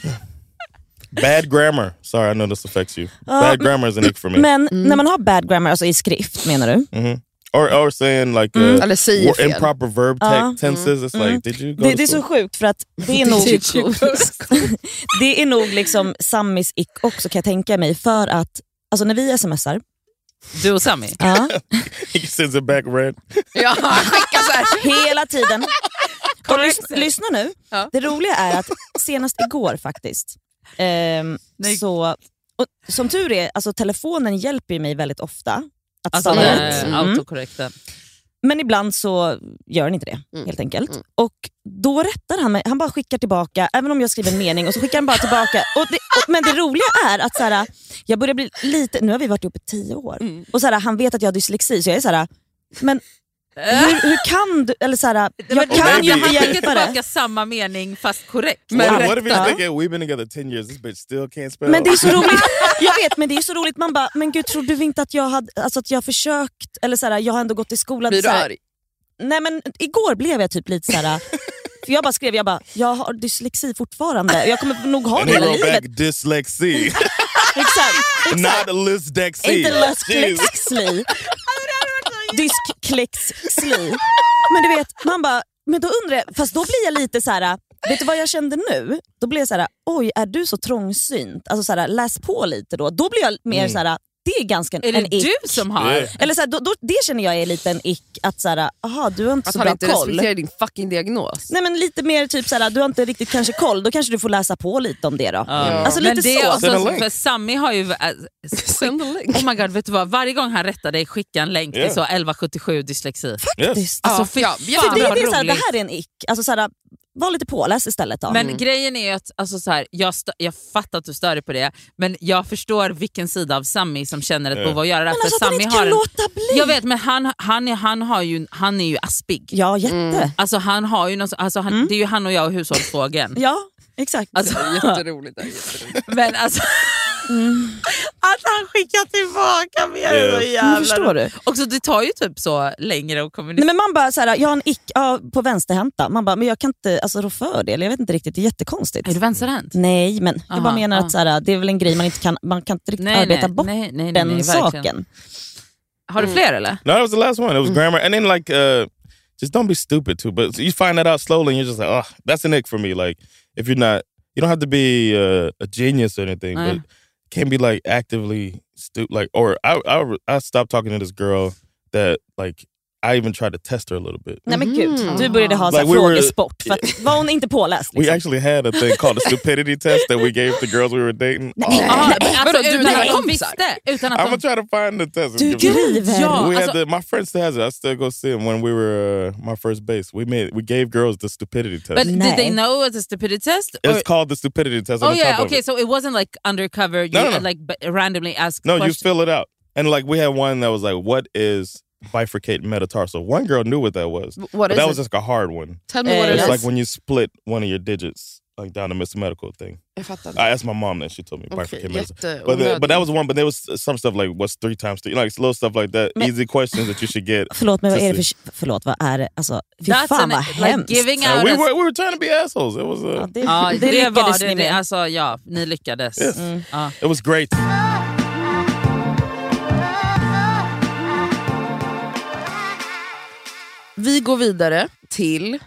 Speaker 3: Bad grammar. Sorry, I know this affects you.
Speaker 5: Ja,
Speaker 3: Bad grammar is an ick for me.
Speaker 5: Men när man har bad grammar, alltså i skrift menar du?
Speaker 3: hmm Or or saying like uh,
Speaker 4: Eller säger
Speaker 3: wor-
Speaker 4: fel.
Speaker 3: improper verb te-
Speaker 5: Ja.
Speaker 3: tenses. It's
Speaker 5: Mm.
Speaker 3: like, did you go
Speaker 5: Det,
Speaker 3: to
Speaker 5: det är så
Speaker 3: school?
Speaker 5: sjukt för att det är nog det är nog liksom Sammis ick också, kan jag tänka mig, för att alltså när vi smsar,
Speaker 2: Du och Sami.
Speaker 5: ja,
Speaker 3: He sends it back red.
Speaker 4: Ja, skicka så här.
Speaker 5: hela tiden. Och lys, lyssna nu.
Speaker 4: Ja.
Speaker 5: Det roliga är att senast igår faktiskt, ehm, så, och som tur är, alltså telefonen hjälper ju mig väldigt ofta att
Speaker 2: Alltså
Speaker 5: stava
Speaker 2: den
Speaker 5: rätt.
Speaker 2: är
Speaker 5: Mm.
Speaker 2: autokorrekten.
Speaker 5: Men ibland så gör den inte det,
Speaker 4: Mm.
Speaker 5: helt enkelt.
Speaker 4: Mm.
Speaker 5: Och då rättar han mig, han bara skickar tillbaka, även om jag skriver en mening, och så skickar han bara tillbaka. Och det, och, men det roliga är att så här, jag börjar bli lite, nu har vi varit uppe i tio år,
Speaker 4: Mm.
Speaker 5: och så här, han vet att jag har dyslexi, så jag är så här, men hur, hur kan du, eller så här, jag
Speaker 2: Men
Speaker 5: kan
Speaker 3: maybe
Speaker 5: ju
Speaker 2: han
Speaker 5: inte
Speaker 2: skickar
Speaker 5: hjälpa det.
Speaker 2: tillbaka samma mening fast korrekt.
Speaker 4: Men
Speaker 3: What, what if
Speaker 4: rätta.
Speaker 3: he's thinking we've been together ten years? This bitch still can't spell.
Speaker 5: Men det är så roligt, jag vet, men det är så roligt, man bara, men gud, tror du inte att jag hade, alltså att jag har försökt, eller så här, jag har ändå gått i skolan.
Speaker 4: Blir du
Speaker 5: så här,
Speaker 4: arg?
Speaker 5: Nej men igår blev jag typ lite så här. För jag bara skrev, jag bara, jag har dyslexi fortfarande, jag kommer nog ha
Speaker 3: And
Speaker 5: det
Speaker 3: he
Speaker 5: hela
Speaker 3: wrote
Speaker 5: livet.
Speaker 3: back dyslexi,
Speaker 5: Exakt, exakt.
Speaker 3: not lysdexi.
Speaker 5: Inte
Speaker 3: Jesus.
Speaker 5: dysklexi. Dysklexi. Men du vet, man bara, men då undrar jag, fast då blir jag lite så här. Vet du vad jag kände nu? Då blir jag så här, oj, är du så trångsynt? Alltså så här, läs på lite då. Då blir jag mer
Speaker 3: Mm.
Speaker 5: så här, det är ganska
Speaker 2: Är
Speaker 5: en
Speaker 2: det
Speaker 5: ick.
Speaker 2: du som har?
Speaker 3: Yeah.
Speaker 5: Eller så här, då, då, det känner jag är lite en ick, att så här, aha, du har inte
Speaker 4: Att
Speaker 5: så
Speaker 4: han
Speaker 5: bra
Speaker 4: inte
Speaker 5: koll.
Speaker 4: respekterar din fucking diagnos.
Speaker 5: Nej men lite mer typ såhär, du har inte riktigt kanske koll, då kanske du får läsa på lite om det då.
Speaker 2: Ja.
Speaker 5: Alltså
Speaker 2: Men
Speaker 5: lite
Speaker 2: det är
Speaker 5: så.
Speaker 2: också,
Speaker 3: Send a link.
Speaker 2: för Sami har ju... Äh,
Speaker 4: Send a link.
Speaker 2: oh my god, vet du vad? Varje gång han rättar dig, skicka en länk
Speaker 3: Yeah.
Speaker 2: till så elva sjuttiosju dyslexi.
Speaker 3: Yes.
Speaker 2: Alltså
Speaker 4: Ja,
Speaker 2: fy
Speaker 4: ja,
Speaker 2: fan
Speaker 5: det,
Speaker 2: vad
Speaker 5: det, är såhär, det
Speaker 2: roligt.
Speaker 5: här är en ick, alltså såhär, var lite påläst istället då.
Speaker 2: Men grejen är ju att alltså, så här, jag, stö- jag fattar att du stör dig på det, men jag förstår vilken sida av Sami som känner ett
Speaker 3: Ja.
Speaker 2: behov av att göra det.
Speaker 5: Men
Speaker 2: För
Speaker 5: alltså att han
Speaker 2: Sami
Speaker 5: inte
Speaker 2: har
Speaker 5: kan
Speaker 2: en,
Speaker 5: låta bli.
Speaker 2: jag vet, men han, han, är, han, har ju, han är ju aspig.
Speaker 5: Ja, jätte.
Speaker 2: Alltså han har ju någon, alltså, han,
Speaker 5: Mm.
Speaker 2: det är ju han och jag och hushållsfågeln.
Speaker 5: Ja, exakt.
Speaker 2: Alltså,
Speaker 4: Jätteroligt. det är jätteroligt.
Speaker 2: men alltså, att han skickar tillbaka mer
Speaker 3: Yeah.
Speaker 2: är så
Speaker 5: Men
Speaker 2: jävla
Speaker 5: förstår du?
Speaker 2: också, det tar ju typ så längre att
Speaker 5: Nej,
Speaker 2: kommunicera.
Speaker 5: men man bara såhär, jag har en ick ja, på vänsterhänta. Man bara, men jag kan inte alltså, rå för det. Eller jag vet inte riktigt, det är jättekonstigt.
Speaker 2: Är du vänsterhänt?
Speaker 5: Nej, men jag bara
Speaker 2: Aha,
Speaker 5: menar
Speaker 2: ja.
Speaker 5: att såhär, det är väl en grej man inte kan, man kan inte riktigt
Speaker 2: Nej,
Speaker 5: arbeta
Speaker 2: nej,
Speaker 5: bort
Speaker 2: nej, nej, nej,
Speaker 5: den
Speaker 2: nej, verkligen.
Speaker 5: saken.
Speaker 2: Har du fler eller?
Speaker 3: No, that was the last one. It was grammar, and then like, uh, just don't be stupid too. But you find that out slowly, and you're just like, oh, that's an ick for me. Like, if you're not, you don't have to be uh, a genius or anything,
Speaker 2: Uh.
Speaker 3: but can't be like actively stupid. Like, or I, I, I stopped talking to this girl that like I even tried to test her a little bit.
Speaker 5: Nej men gud,
Speaker 4: Mhm.
Speaker 5: du började ha
Speaker 3: Like
Speaker 5: like
Speaker 3: we were-
Speaker 5: frågesport. För att, var hon inte påläst?
Speaker 3: We
Speaker 5: Liksom?
Speaker 3: actually had a thing called a stupidity test that we gave the girls we were dating. Oh,
Speaker 2: Aha, men alltså,
Speaker 4: Vadå, du
Speaker 2: utan
Speaker 4: dina
Speaker 2: att de
Speaker 4: kompisar?
Speaker 2: visste. Utan att
Speaker 3: I'm
Speaker 2: de...
Speaker 3: gonna try to find the test.
Speaker 5: Du
Speaker 3: Give me-
Speaker 5: driver.
Speaker 2: Ja.
Speaker 3: we had
Speaker 2: alltså-
Speaker 3: the, my friend still has it. I still go see him when we were uh, my first base. We made we gave girls the stupidity test.
Speaker 2: But did
Speaker 5: Nej.
Speaker 2: they know it's a stupidity test? Or...
Speaker 3: It's called the stupidity test.
Speaker 2: Oh
Speaker 3: on the top
Speaker 2: yeah,
Speaker 3: of
Speaker 2: okay,
Speaker 3: it.
Speaker 2: so it wasn't like undercover, you
Speaker 3: No, no, no.
Speaker 2: like b- randomly asked
Speaker 3: No, you
Speaker 2: questions.
Speaker 3: fill it out. And like we had one that was like, what is bifurcated metatarsal? One girl knew what that was.
Speaker 4: What
Speaker 3: But
Speaker 4: is
Speaker 3: that
Speaker 4: it?
Speaker 3: was just a hard one.
Speaker 4: Tell me what
Speaker 5: Eh,
Speaker 4: it
Speaker 3: It's
Speaker 4: is.
Speaker 3: like when you split one of your digits like down to Mister Medical thing.
Speaker 4: Jag fattar.
Speaker 3: I asked my mom that, she told me
Speaker 4: Okej,
Speaker 3: bifurcated metatarsal.
Speaker 4: jätte
Speaker 3: But, the, but that was one, but there was some stuff like what's three times three, like little stuff like that.
Speaker 5: Men-
Speaker 3: Easy questions that you should get.
Speaker 5: Förlåt, men vad är det
Speaker 3: Just
Speaker 5: för... Förlåt, vad är det? Alltså, fy
Speaker 2: That's
Speaker 5: fan
Speaker 2: an,
Speaker 5: vad
Speaker 2: like
Speaker 5: hemskt.
Speaker 2: giving
Speaker 3: Uh,
Speaker 2: out
Speaker 3: we
Speaker 2: a-
Speaker 3: were we were trying to be assholes. It was uh,
Speaker 5: Ja, det,
Speaker 2: Ja,
Speaker 5: det,
Speaker 2: det var
Speaker 5: lyckades
Speaker 2: det.
Speaker 5: ni
Speaker 2: det
Speaker 5: med.
Speaker 2: alltså, ja, ni lyckades.
Speaker 3: Yes.
Speaker 5: Mm.
Speaker 2: Ja.
Speaker 3: it was great.
Speaker 4: Vi går vidare till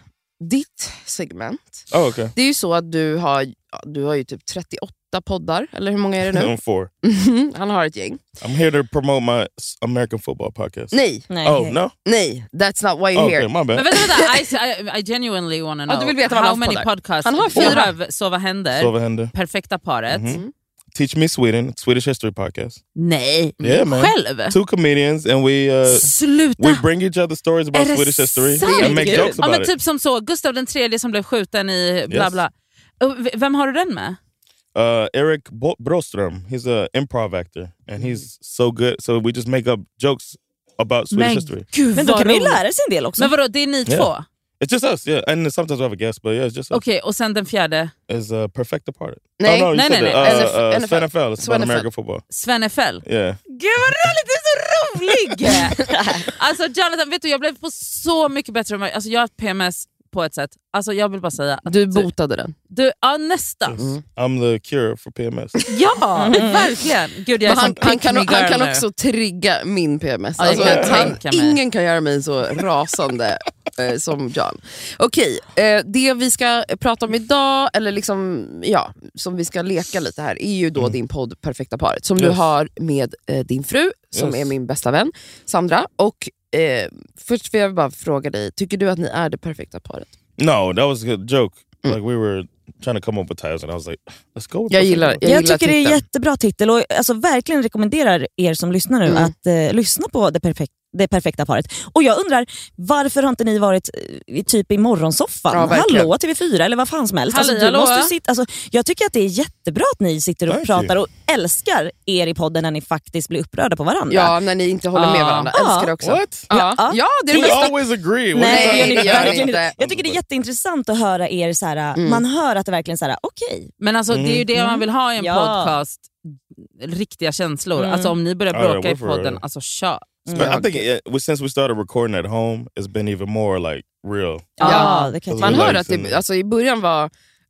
Speaker 4: ditt segment.
Speaker 3: Oh, okay.
Speaker 4: Det är ju så att du har, du har ju typ trettioåtta poddar, eller hur många är det nu?
Speaker 3: I'm four.
Speaker 4: Han har ett gäng.
Speaker 3: I'm here to promote my American football podcast.
Speaker 4: Nej.
Speaker 5: Nej.
Speaker 3: Oh, no?
Speaker 4: Nej, that's not why you're
Speaker 3: Oh,
Speaker 4: here.
Speaker 3: okay, my bad.
Speaker 2: Men vänta, vänta. I, I, I genuinely want to know.
Speaker 4: Ja, du vill veta vad
Speaker 2: how
Speaker 4: han har
Speaker 2: many
Speaker 4: poddar.
Speaker 2: podcasts
Speaker 4: Han har
Speaker 2: do you
Speaker 4: fyra.
Speaker 2: have? Sova händer,
Speaker 3: Sova händer.
Speaker 2: Perfekta paret.
Speaker 3: Mhm. Teach Me Sweden, Swedish history podcast.
Speaker 2: Nej,
Speaker 3: Yeah, man.
Speaker 2: själv?
Speaker 3: Two comedians and we uh,
Speaker 2: Sluta!
Speaker 3: we bring each other stories about
Speaker 2: Är det
Speaker 3: Swedish history
Speaker 2: sant?
Speaker 3: and make
Speaker 4: Gud.
Speaker 3: jokes
Speaker 2: Ja,
Speaker 3: about
Speaker 2: men
Speaker 3: it.
Speaker 2: typ som så, Gustav den tredje som blev skjuten i bla
Speaker 3: Yes.
Speaker 2: bla. Och v- Vem har du den med?
Speaker 3: Uh, Eric Bo- Broström, he's an improv actor and he's so good. So we just make up jokes about Swedish
Speaker 2: Men
Speaker 3: history.
Speaker 2: gud
Speaker 5: Men då
Speaker 2: vad
Speaker 5: kan man ju
Speaker 2: roligt.
Speaker 5: lära sig en del också.
Speaker 2: Men vadå, det är ni
Speaker 3: Yeah.
Speaker 2: två?
Speaker 3: It's just us, yeah. And sometimes we have a guest, but yeah, it's just us.
Speaker 2: Okej, och sen den fjärde,
Speaker 3: Is uh, Perfect Apart.
Speaker 4: Nej.
Speaker 3: oh, no, you
Speaker 2: Nej,
Speaker 3: said
Speaker 2: nej,
Speaker 3: that.
Speaker 2: nej.
Speaker 3: Uh,
Speaker 4: N F L.
Speaker 3: uh, Sven N F L. It's
Speaker 4: Sven
Speaker 3: about
Speaker 4: N F L.
Speaker 3: American football.
Speaker 2: Sven F L.
Speaker 3: Yeah.
Speaker 2: Gud vad roligt, du är så rolig! Alltså Jonathan, vet du, jag blev på så mycket bättre humör. Alltså jag har P M S på ett sätt. Alltså jag vill bara säga att
Speaker 4: Du botade den.
Speaker 2: du, ja nästan.
Speaker 3: Mm. I'm the cure for P M S.
Speaker 2: Ja, verkligen. Gud, jag är
Speaker 4: Men han,
Speaker 2: som
Speaker 4: han
Speaker 2: pick
Speaker 4: kan,
Speaker 2: me
Speaker 4: han
Speaker 2: girl
Speaker 4: kan
Speaker 2: nu.
Speaker 4: också trigga min P M S.
Speaker 2: Ja, jag
Speaker 4: Alltså,
Speaker 2: kan
Speaker 4: han,
Speaker 2: tänka mig.
Speaker 4: ingen kan göra mig så rasande eh, som John. Okej, eh, det vi ska prata om idag, eller liksom, ja, som vi ska leka lite här, är ju då
Speaker 3: Mm.
Speaker 4: din podd Perfekta paret, som du
Speaker 3: Yes.
Speaker 4: har med eh, din fru, som
Speaker 3: Yes.
Speaker 4: är min bästa vän, Sandra. Och eh, först vill jag bara fråga dig, tycker du att ni är det perfekta paret?
Speaker 3: No, that was a good joke.
Speaker 4: Mm.
Speaker 3: Like we were trying to come up with titles and I was like, let's go with
Speaker 4: Jag
Speaker 3: Perfect
Speaker 4: gillar,
Speaker 3: Apart.
Speaker 4: jag
Speaker 5: Jag
Speaker 4: gillar
Speaker 5: tycker det är
Speaker 4: titeln.
Speaker 5: jättebra titel och alltså, verkligen rekommenderar er som lyssnar nu
Speaker 4: Mm.
Speaker 5: att eh, lyssna på det, perfek- det perfekta paret. Och jag undrar, varför har inte ni varit eh, i, typ i morgonsoffan?
Speaker 4: Ja, verkligen.
Speaker 5: Hallå T V fyra eller vad fan som helst. Alltså,
Speaker 2: Halli,
Speaker 5: du
Speaker 2: hallå.
Speaker 5: måste sitta, alltså, jag tycker att det är jättebra att ni sitter och
Speaker 3: Thank
Speaker 5: pratar
Speaker 3: you.
Speaker 5: och älskar er i podden när ni faktiskt blir upprörda på varandra.
Speaker 4: Ja, när ni inte håller med
Speaker 2: Ja.
Speaker 4: varandra.
Speaker 5: Ja.
Speaker 4: Älskar det också.
Speaker 3: What?
Speaker 4: Ja,
Speaker 5: Ja.
Speaker 4: ja, det är det
Speaker 3: We
Speaker 4: bästa.
Speaker 3: always agree. What
Speaker 5: Nej,
Speaker 3: are you
Speaker 5: det
Speaker 3: talking
Speaker 5: gör
Speaker 4: gör
Speaker 5: ni
Speaker 3: about?
Speaker 4: inte.
Speaker 5: verkligen inte. Jag tycker det är jätteintressant att höra er så här.
Speaker 4: Mm.
Speaker 5: Man hör att det verkligen så här, okej.
Speaker 2: Men alltså det är ju det man vill ha i en
Speaker 5: Ja.
Speaker 2: podcast. Riktiga känslor.
Speaker 5: Mm.
Speaker 2: Alltså om ni börjar
Speaker 3: Ja, ja,
Speaker 2: bråka i
Speaker 3: we're for
Speaker 2: podden,
Speaker 3: it.
Speaker 2: alltså kör.
Speaker 3: But I think it, well, since we started recording at home, it's been even more like real.
Speaker 5: Ja,
Speaker 4: Ja.
Speaker 5: det kan jag
Speaker 3: Man
Speaker 4: Man
Speaker 5: tycka.
Speaker 4: hör att det, alltså, i början var,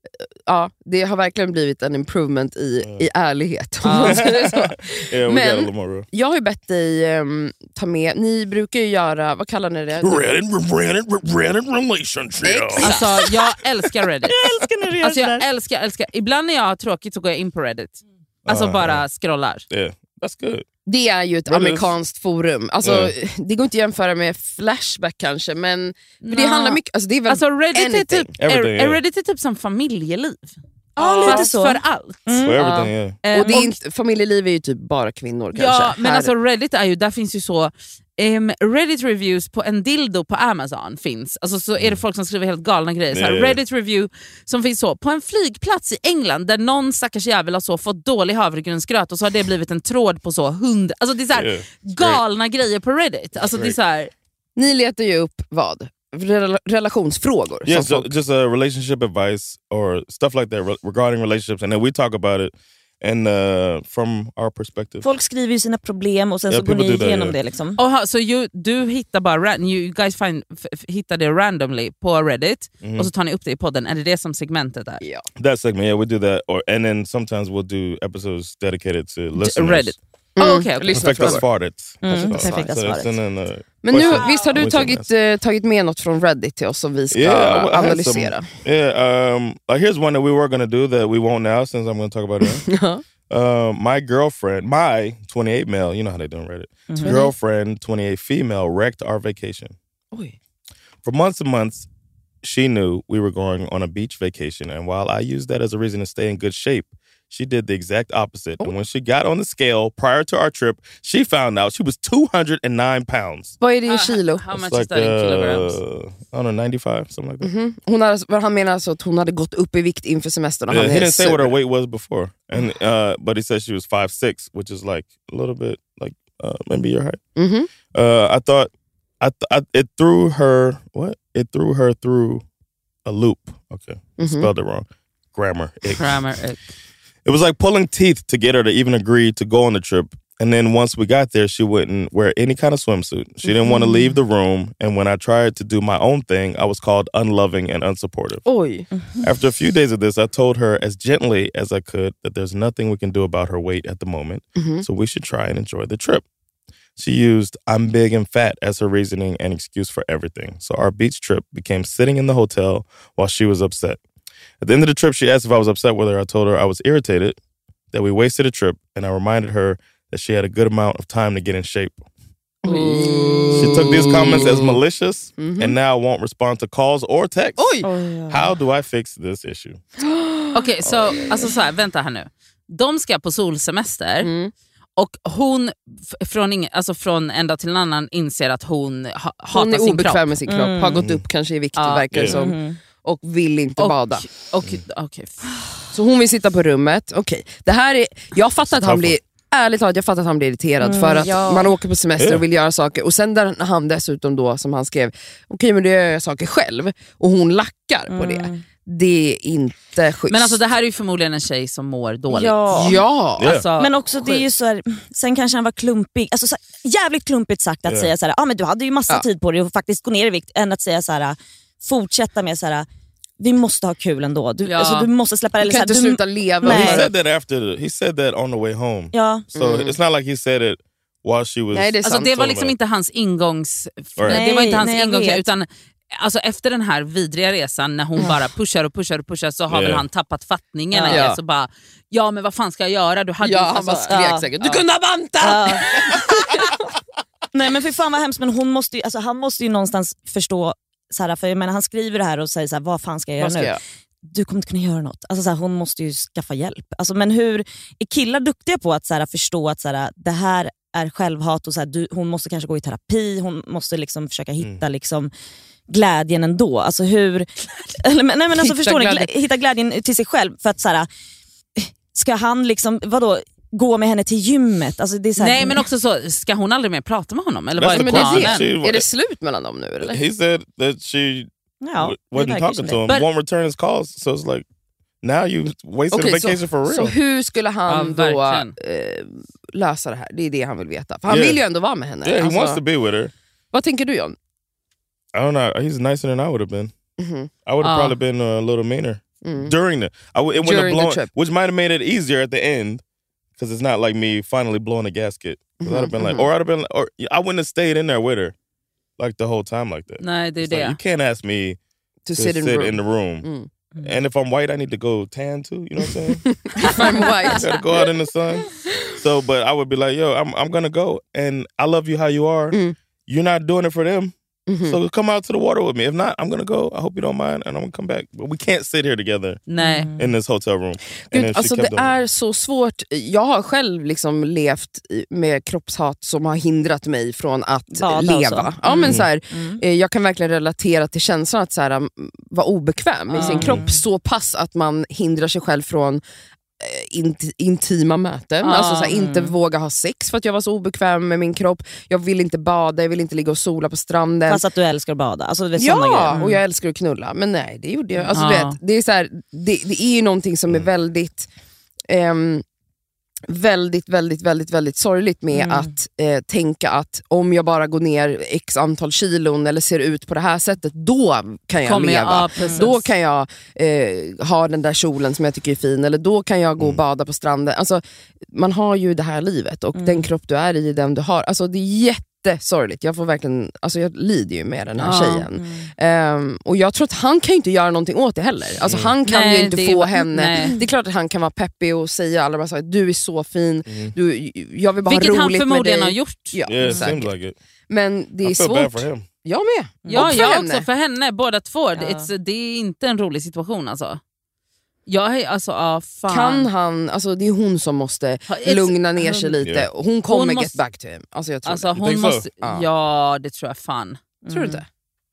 Speaker 4: ja, det har verkligen blivit en improvement i, i ärlighet. om man säger så.
Speaker 3: Yeah, we
Speaker 4: Men-
Speaker 3: got a little more real.
Speaker 4: Jag har ju bett dig ehm, ta med, ni brukar ju göra, vad kallar ni det?
Speaker 3: Reddit, Reddit, Reddit relationship.
Speaker 2: Alltså jag älskar Reddit.
Speaker 5: Jag älskar när du gör
Speaker 2: Alltså jag
Speaker 5: sådär.
Speaker 2: älskar, älskar. Ibland när jag har tråkigt så går jag in på Reddit. Alltså
Speaker 3: Uh,
Speaker 2: bara scrollar.
Speaker 3: Yeah, that's good.
Speaker 4: Det är ju ett
Speaker 3: Reddit.
Speaker 4: amerikanskt forum. Alltså,
Speaker 3: Ja.
Speaker 4: Det går inte att jämföra med Flashback kanske, men för det
Speaker 2: Nå.
Speaker 4: handlar mycket, alltså det är väl
Speaker 2: Alltså Reddit är,
Speaker 4: anything.
Speaker 2: typ, är,
Speaker 3: Everything,
Speaker 2: är
Speaker 3: yeah.
Speaker 2: Reddit är typ som familjeliv.
Speaker 5: Ja, lite
Speaker 2: Fast
Speaker 5: så.
Speaker 2: för allt.
Speaker 5: Mm.
Speaker 3: For everything, yeah.
Speaker 2: Eh,
Speaker 4: Och det är inte, familjeliv är ju typ bara kvinnor kanske.
Speaker 2: Ja, men
Speaker 4: Här-
Speaker 2: alltså Reddit är ju, där finns ju så um, Reddit reviews på en dildo på Amazon finns. Alltså så är det folk som skriver helt galna grejer. Så här,
Speaker 3: Ja, ja.
Speaker 2: Reddit review som finns så på en flygplats i England där någon stackars jävel har så fått dålig havregrynsgröt och så har det blivit en tråd på så hundra. Alltså det är så här,
Speaker 3: Yeah.
Speaker 2: galna grejer på Reddit. Alltså det är så här,
Speaker 4: Ni letar ju upp vad? Rel- relationsfrågor.
Speaker 3: Yeah,
Speaker 4: som
Speaker 3: so,
Speaker 4: folk-
Speaker 3: just a relationship advice or stuff like that re- regarding relationships, and then we talk about it and uh, from our perspective.
Speaker 5: Folk skriver ju sina problem och sen
Speaker 3: Ja,
Speaker 5: så går
Speaker 3: people
Speaker 5: ni
Speaker 3: do that,
Speaker 5: igenom
Speaker 3: ja.
Speaker 5: det liksom.
Speaker 2: Oha, så you, du hittar bara ran, you guys find, f- f- hittar det randomly på Reddit
Speaker 3: Mhm.
Speaker 2: och så tar ni upp det i podden. Är det det som segmentet är?
Speaker 4: ja.
Speaker 3: That segment, yeah, we do that, or and then sometimes we'll do episodes dedicated to listeners.
Speaker 2: Reddit.
Speaker 4: Mm.
Speaker 2: Oh, okay, okay.
Speaker 4: Lyssna
Speaker 3: Perfecta
Speaker 4: frågor.
Speaker 3: svaret.
Speaker 5: Mm,
Speaker 3: So-
Speaker 5: perfekta
Speaker 3: so
Speaker 5: svaret.
Speaker 3: send in, uh,
Speaker 4: Men nu,
Speaker 3: questions.
Speaker 4: visst har du
Speaker 3: We
Speaker 4: tagit,
Speaker 3: send
Speaker 4: eh, tagit med något från Reddit till oss som vi ska
Speaker 3: Yeah, I- I had
Speaker 4: analysera?
Speaker 3: Yeah, um, like here's one that we were going to do that we won't now since I'm going to talk about it.
Speaker 4: Ja.
Speaker 3: Um, my girlfriend, my twenty-eight male, you know how they do on Reddit. Girlfriend, twenty-eight female, wrecked our vacation.
Speaker 4: Oj.
Speaker 3: For months and months, she knew we were going on a beach vacation, and while I used that as a reason to stay in good shape, she did the exact opposite. And when she got on the scale prior to our trip, she found out she was two hundred nine pounds.
Speaker 4: Vad är det i kilo?
Speaker 2: How
Speaker 3: It's
Speaker 2: much is
Speaker 3: like,
Speaker 2: that in kilograms?
Speaker 3: uh, I don't know, ninety-five, something like that.
Speaker 4: Mhm. Hon hade, han menar alltså att hon hade gått upp i vikt inför semestern. Och
Speaker 3: Yeah,
Speaker 4: han
Speaker 3: he
Speaker 4: är
Speaker 3: didn't say what her
Speaker 4: sur.
Speaker 3: weight was before, and uh, but he said she was five six, which is like a little bit like uh, maybe your height.
Speaker 4: Mhm.
Speaker 3: Uh, I thought I, th- I it threw her what? It threw her through a loop. Okay,
Speaker 4: Mhm.
Speaker 3: spelled it wrong. Grammar. Ick.
Speaker 2: Grammar.
Speaker 3: It was like pulling teeth to get her to even agree to go on the trip. And then once we got there, she wouldn't wear any kind of swimsuit. She didn't want to leave the room. And when I tried to do my own thing, I was called unloving and unsupportive.
Speaker 4: Oj.
Speaker 3: After a few days of this, I told her as gently as I could that there's nothing we can do about her weight at the moment. So we should try and enjoy the trip. She used "I'm big and fat" as her reasoning and excuse for everything. So our beach trip became sitting in the hotel while she was upset. At the end of the trip, she asked if I was upset with her. I told her I was irritated that we wasted a trip, and I reminded her that she had a good amount of time to get in shape. Ooh. She took these comments as malicious mm-hmm. and now won't respond to calls or texts.
Speaker 4: Oj.
Speaker 3: How do I fix this issue?
Speaker 2: Okej, okay, så, alltså så här, vänta här nu. De ska på solsemester mm. och hon f- från, ing- alltså från en dag till en annan inser att hon ha- hatar sin kropp.
Speaker 4: Hon är obekväm med sin kropp, mm. har gått upp kanske i vikt
Speaker 2: ja.
Speaker 4: verkar det som. Mm. Och vill inte
Speaker 2: och,
Speaker 4: bada.
Speaker 2: Och, okay.
Speaker 4: Så hon vill sitta på rummet. Okej, okay. Det här är, jag fattar att han blir ärligt talat, jag fattar att han blir irriterad mm, för att ja. man åker på semester yeah. och vill göra saker. Och sen där han dessutom då, som han skrev, okej okay, men det gör jag saker själv. Och hon lackar mm. på det. Det är inte schysst.
Speaker 2: Men alltså det här är ju förmodligen en tjej som mår dåligt.
Speaker 5: Ja,
Speaker 4: ja.
Speaker 5: Yeah. Alltså, men också det är ju så här, sen kanske han var klumpig. Alltså så här, jävligt klumpigt sagt att yeah. säga så här, ah, men du hade ju massa ja. tid på dig och faktiskt gå ner i vikt, än att säga så här, fortsätta med så här, vi måste ha kul ändå. Du, ja. alltså, du måste släppa det.
Speaker 4: Du kan inte
Speaker 5: du,
Speaker 4: sluta leva.
Speaker 3: He said that after, he said that on the way home.
Speaker 5: Ja.
Speaker 3: So mm. it's not like he said it while she was...
Speaker 4: Nej, det,
Speaker 2: alltså, det var liksom inte hans ingångs... Nej, det var inte hans nej, ingångs... Utan alltså, efter den här vidriga resan när hon mm. bara pushar och pushar och pushar, så har yeah. väl han tappat fattningen. Ja. Ja. Så bara, ja men vad fan ska jag göra? Du hade
Speaker 4: ja,
Speaker 2: ju,
Speaker 4: han
Speaker 2: alltså,
Speaker 4: bara skrek ja. säkert. Du kunde ha bantat! Ja.
Speaker 5: Nej men för fan vad hemskt, men hon måste ju, alltså, han måste ju någonstans förstå så här, för jag menar, han skriver det här och säger så här, vad fan ska jag göra ska nu? Jag? Du kommer inte kunna göra något. Alltså, så här, hon måste ju skaffa hjälp. Alltså, men hur är killar duktiga på att så här, förstå att så här, det här är självhat och så här, du, hon måste kanske gå i terapi, hon måste liksom försöka hitta mm. liksom, glädjen ändå. Alltså hur... Eller, nej, men alltså, förstår ni? Glä, hitta glädjen till sig själv. För att så här, ska han liksom, vadå, gå med henne till gymmet? Alltså, det är så här,
Speaker 2: nej men också så, ska hon aldrig mer prata med honom? Eller vad är det,
Speaker 4: men det, är det slut mellan dem nu? Eller?
Speaker 3: He said that she
Speaker 5: ja,
Speaker 3: wasn't talking to him, But, won't return his calls. So it's like, now you wasted okay, a vacation
Speaker 4: så,
Speaker 3: for real.
Speaker 4: Så hur skulle han ja, då eh, lösa det här? Det är det han vill veta. För han yeah. vill ju ändå vara med henne.
Speaker 3: Yeah, he
Speaker 4: alltså,
Speaker 3: wants to be with her.
Speaker 4: Vad tänker du, John?
Speaker 3: I don't know. He's nicer than I would have been. Mm-hmm. I would have uh. probably been a little meaner mm. during the. I w- it during blown, the trip, which might have made it easier at the end, because it's not like me finally blowing a gasket. Mm-hmm. I'd have been like, or I'd have been, like, or I wouldn't have stayed in there with her, like the whole time like that.
Speaker 2: Nej, det är det.
Speaker 3: Like, you can't ask me to, to sit, in, sit room. in the room. Mm. Mm. And if I'm white, I need to go tan too. You know what I'm saying?
Speaker 4: If I'm white,
Speaker 3: I gotta go out in the sun. So, but I would be like, yo, I'm I'm gonna go, and I love you how you are. Mm. You're not doing it for them. Mm-hmm. So come out to the water with me. If not, I'm gonna go. I hope you don't mind, and I'm gonna come back. But we can't sit here together.
Speaker 2: Nej.
Speaker 3: In this hotel room.
Speaker 4: Gud, alltså det är så svårt. Jag har själv liksom levt med kroppshat som har hindrat mig från att Bada leva. Mm. Ja, men så här, mm. Jag kan verkligen relatera till känslan att så här, vara obekväm mm. i sin kropp så pass att man hindrar sig själv från Int- intima möten, ah, alltså såhär, inte mm. våga ha sex för att jag var så obekväm med min kropp. Jag vill inte bada, jag vill inte ligga och sola på stranden.
Speaker 5: Fast att du älskar att bada, alltså, det är
Speaker 4: ja, mm. och jag älskar att knulla. Men nej, det gjorde jag alltså, ah. du vet, det, är så här, det, det är ju någonting som är väldigt ehm, väldigt, väldigt, väldigt, väldigt sorgligt med mm. att eh, tänka att om jag bara går ner x antal kilon eller ser ut på det här sättet, då kan jag Kommer leva. Jag, ja, då kan jag eh, ha den där kjolen som jag tycker är fin, eller då kan jag gå och mm. bada på stranden. Alltså, man har ju det här livet och mm. den kropp du är i, den du har. Alltså, det är jätte sorgligt. Jag får verkligen, alltså jag lider ju med den här ja. tjejen. Mm. Um, och jag tror att han kan ju inte göra någonting åt det heller. Alltså mm. han kan nej, ju inte få var, henne. Nej. Det är klart att han kan vara peppig och säga alla bara så här, du är så fin. Mm. Du, jag vill bara
Speaker 2: Vilket
Speaker 4: ha roligt
Speaker 2: han förmodligen
Speaker 4: med
Speaker 2: har
Speaker 4: dig.
Speaker 2: gjort.
Speaker 4: Ja,
Speaker 3: yeah, like it.
Speaker 4: Men det är svårt. Jag med.
Speaker 2: Ja,
Speaker 4: för
Speaker 2: jag
Speaker 4: henne.
Speaker 2: också för henne. Båda två.
Speaker 5: Ja.
Speaker 2: It's, det är inte en rolig situation alltså. Jag är, alltså, ah, fan.
Speaker 4: Kan han, alltså det är hon som måste It's, lugna ner sig lite. Yeah. Hon kommer hon måste, get back to him. Alltså jag tror
Speaker 2: alltså,
Speaker 4: det.
Speaker 2: Hon måste, ja. ja, det tror jag fan.
Speaker 4: Mm. Tror du inte?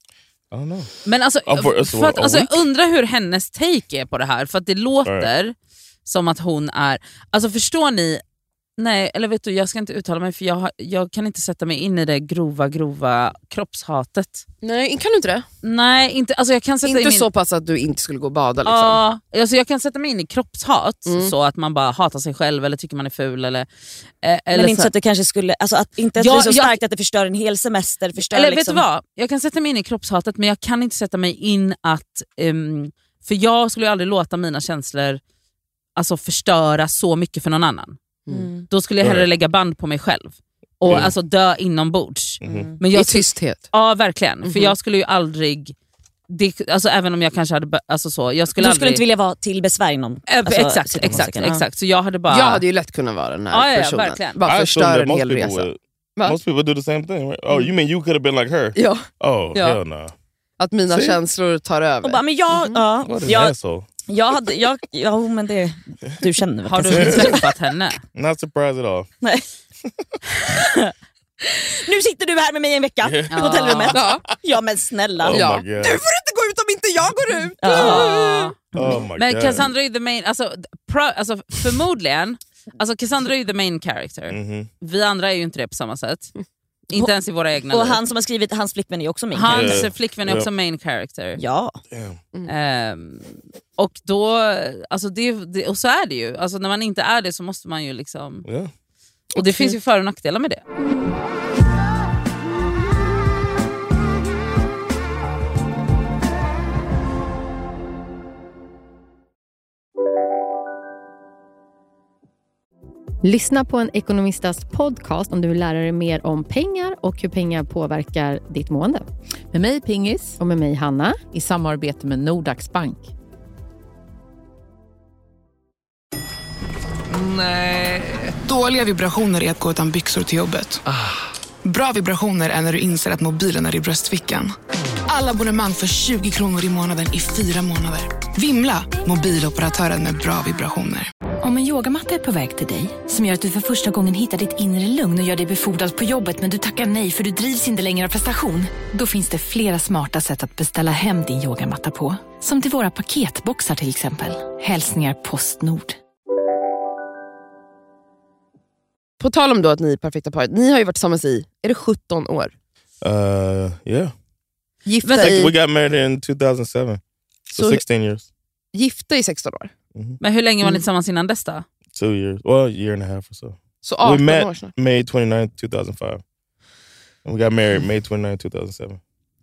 Speaker 3: I don't know.
Speaker 2: Men alltså, för att, alltså jag undrar hur hennes take är på det här. För att det låter right. som att hon är, alltså förstår ni. Nej, eller vet du, jag ska inte uttala mig för jag, har, jag kan inte sätta mig in i det grova, grova kroppshatet.
Speaker 4: Nej, kan du inte det?
Speaker 2: Nej, inte, alltså jag kan sätta
Speaker 4: inte
Speaker 2: in
Speaker 4: så pass att du inte skulle gå och bada liksom.
Speaker 2: Ja, alltså jag kan sätta mig in i kroppshat mm. så att man bara hatar sig själv eller tycker man är ful eller, eh, eller
Speaker 5: men inte
Speaker 2: så
Speaker 5: så att det kanske skulle, alltså att inte att ja, det är så starkt jag, att det förstör en hel semester, förstör
Speaker 2: eller
Speaker 5: liksom.
Speaker 2: vet du vad? Jag kan sätta mig in i kroppshatet men jag kan inte sätta mig in att um, för jag skulle ju aldrig låta mina känslor alltså förstöra så mycket för någon annan. Mm. Då skulle jag hellre lägga band på mig själv. och
Speaker 3: Mm.
Speaker 2: alltså dö inombords.
Speaker 3: Mm.
Speaker 2: Men
Speaker 4: I
Speaker 2: jag,
Speaker 4: tysthet.
Speaker 2: ja, verkligen.
Speaker 4: Mhm.
Speaker 2: För jag skulle ju aldrig... Det, alltså, även om jag kanske hade... Alltså, så, jag skulle
Speaker 5: Du
Speaker 2: aldrig,
Speaker 5: skulle inte vilja vara till besvär inom
Speaker 2: Äh,
Speaker 5: alltså,
Speaker 2: exakt,
Speaker 5: sitta på
Speaker 2: exakt,
Speaker 5: musiken. Ja.
Speaker 2: exakt. Så jag hade bara...
Speaker 4: Jag hade ju lätt kunnat vara den här
Speaker 2: Ja, ja,
Speaker 4: personen.
Speaker 2: verkligen.
Speaker 4: Bara
Speaker 3: I assume
Speaker 4: förstör
Speaker 3: that
Speaker 4: en
Speaker 3: most
Speaker 4: hel
Speaker 3: people
Speaker 4: resa.
Speaker 3: would.
Speaker 4: Va?
Speaker 3: Most people do the same thing, right? Oh, you mean you could have been like her?
Speaker 4: Ja,
Speaker 3: Oh,
Speaker 2: Ja.
Speaker 3: hell no.
Speaker 4: att mina
Speaker 3: See?
Speaker 4: känslor tar över.
Speaker 5: Och bara, men jag, ja,
Speaker 3: What an
Speaker 5: jag,
Speaker 3: asshole.
Speaker 5: jag hade, jag, ja men det, du känner väl
Speaker 2: Har
Speaker 5: kanske.
Speaker 2: du träffat henne?
Speaker 3: Not surprised at all.
Speaker 5: Nej. Nu sitter du här med mig en vecka på hotellrummet.
Speaker 4: Ja.
Speaker 5: Ja men snälla.
Speaker 3: Oh
Speaker 4: Ja.
Speaker 3: my god.
Speaker 4: Du får inte gå ut om inte jag går ut!
Speaker 2: Ja.
Speaker 3: Oh my
Speaker 2: Men
Speaker 3: god.
Speaker 2: Cassandra är ju the main... Alltså, pro, alltså, förmodligen... Alltså Cassandra är ju the main character.
Speaker 3: Mhm.
Speaker 2: Vi andra är ju inte det på samma sätt. Inte ens i våra egna
Speaker 5: Och
Speaker 2: liv.
Speaker 5: han som har skrivit, hans flickvän är också min.
Speaker 2: Hans
Speaker 3: Yeah.
Speaker 2: flickvän är
Speaker 3: Ja.
Speaker 2: också main character.
Speaker 5: Ja.
Speaker 3: Damn.
Speaker 2: Ehm, och då, alltså det, det, och så är det ju. Alltså när man inte är det så måste man ju liksom...
Speaker 3: Yeah.
Speaker 2: Och det finns ju för- och nackdelar med det.
Speaker 8: Lyssna på en ekonomistas podcast om du vill lära dig mer om pengar och hur pengar påverkar ditt mående.
Speaker 9: Med mig Pingis
Speaker 8: Och med mig Hanna.
Speaker 9: i samarbete med Nordax Bank.
Speaker 10: Nej. Dåliga vibrationer är att gå utan byxor till jobbet. Bra vibrationer är när du inser att mobilen är i bröstfickan. Alla abonnemang för tjugo kronor i månaden i fyra månader. Vimla! Mobiloperatören med bra vibrationer.
Speaker 11: Om en yogamatta är på väg till dig, som gör att du för första gången hittar ditt inre lugn och gör dig befordrad på jobbet men du tackar nej för du drivs inte längre av prestation. Då finns det flera smarta sätt att beställa hem din yogamatta på. Som till våra paketboxar till exempel. Hälsningar Postnord.
Speaker 4: På tal om då att ni är perfekta paret, ni har ju varit tillsammans i, är det sjutton år?
Speaker 3: Uh, yeah.
Speaker 4: Gifta
Speaker 3: Like, we
Speaker 4: i,
Speaker 3: got married in two thousand seven. So,
Speaker 4: So-
Speaker 3: sixteen years.
Speaker 4: gifta i sexton år.
Speaker 2: Men hur länge var ni
Speaker 4: Mm.
Speaker 2: tillsammans innan dess då?
Speaker 3: Two years. Well, a year and a half or so.
Speaker 4: Så
Speaker 3: We
Speaker 4: arton
Speaker 3: met
Speaker 4: år snart.
Speaker 3: May twenty-ninth, two thousand five. And we got married May twenty-ninth, two thousand seven.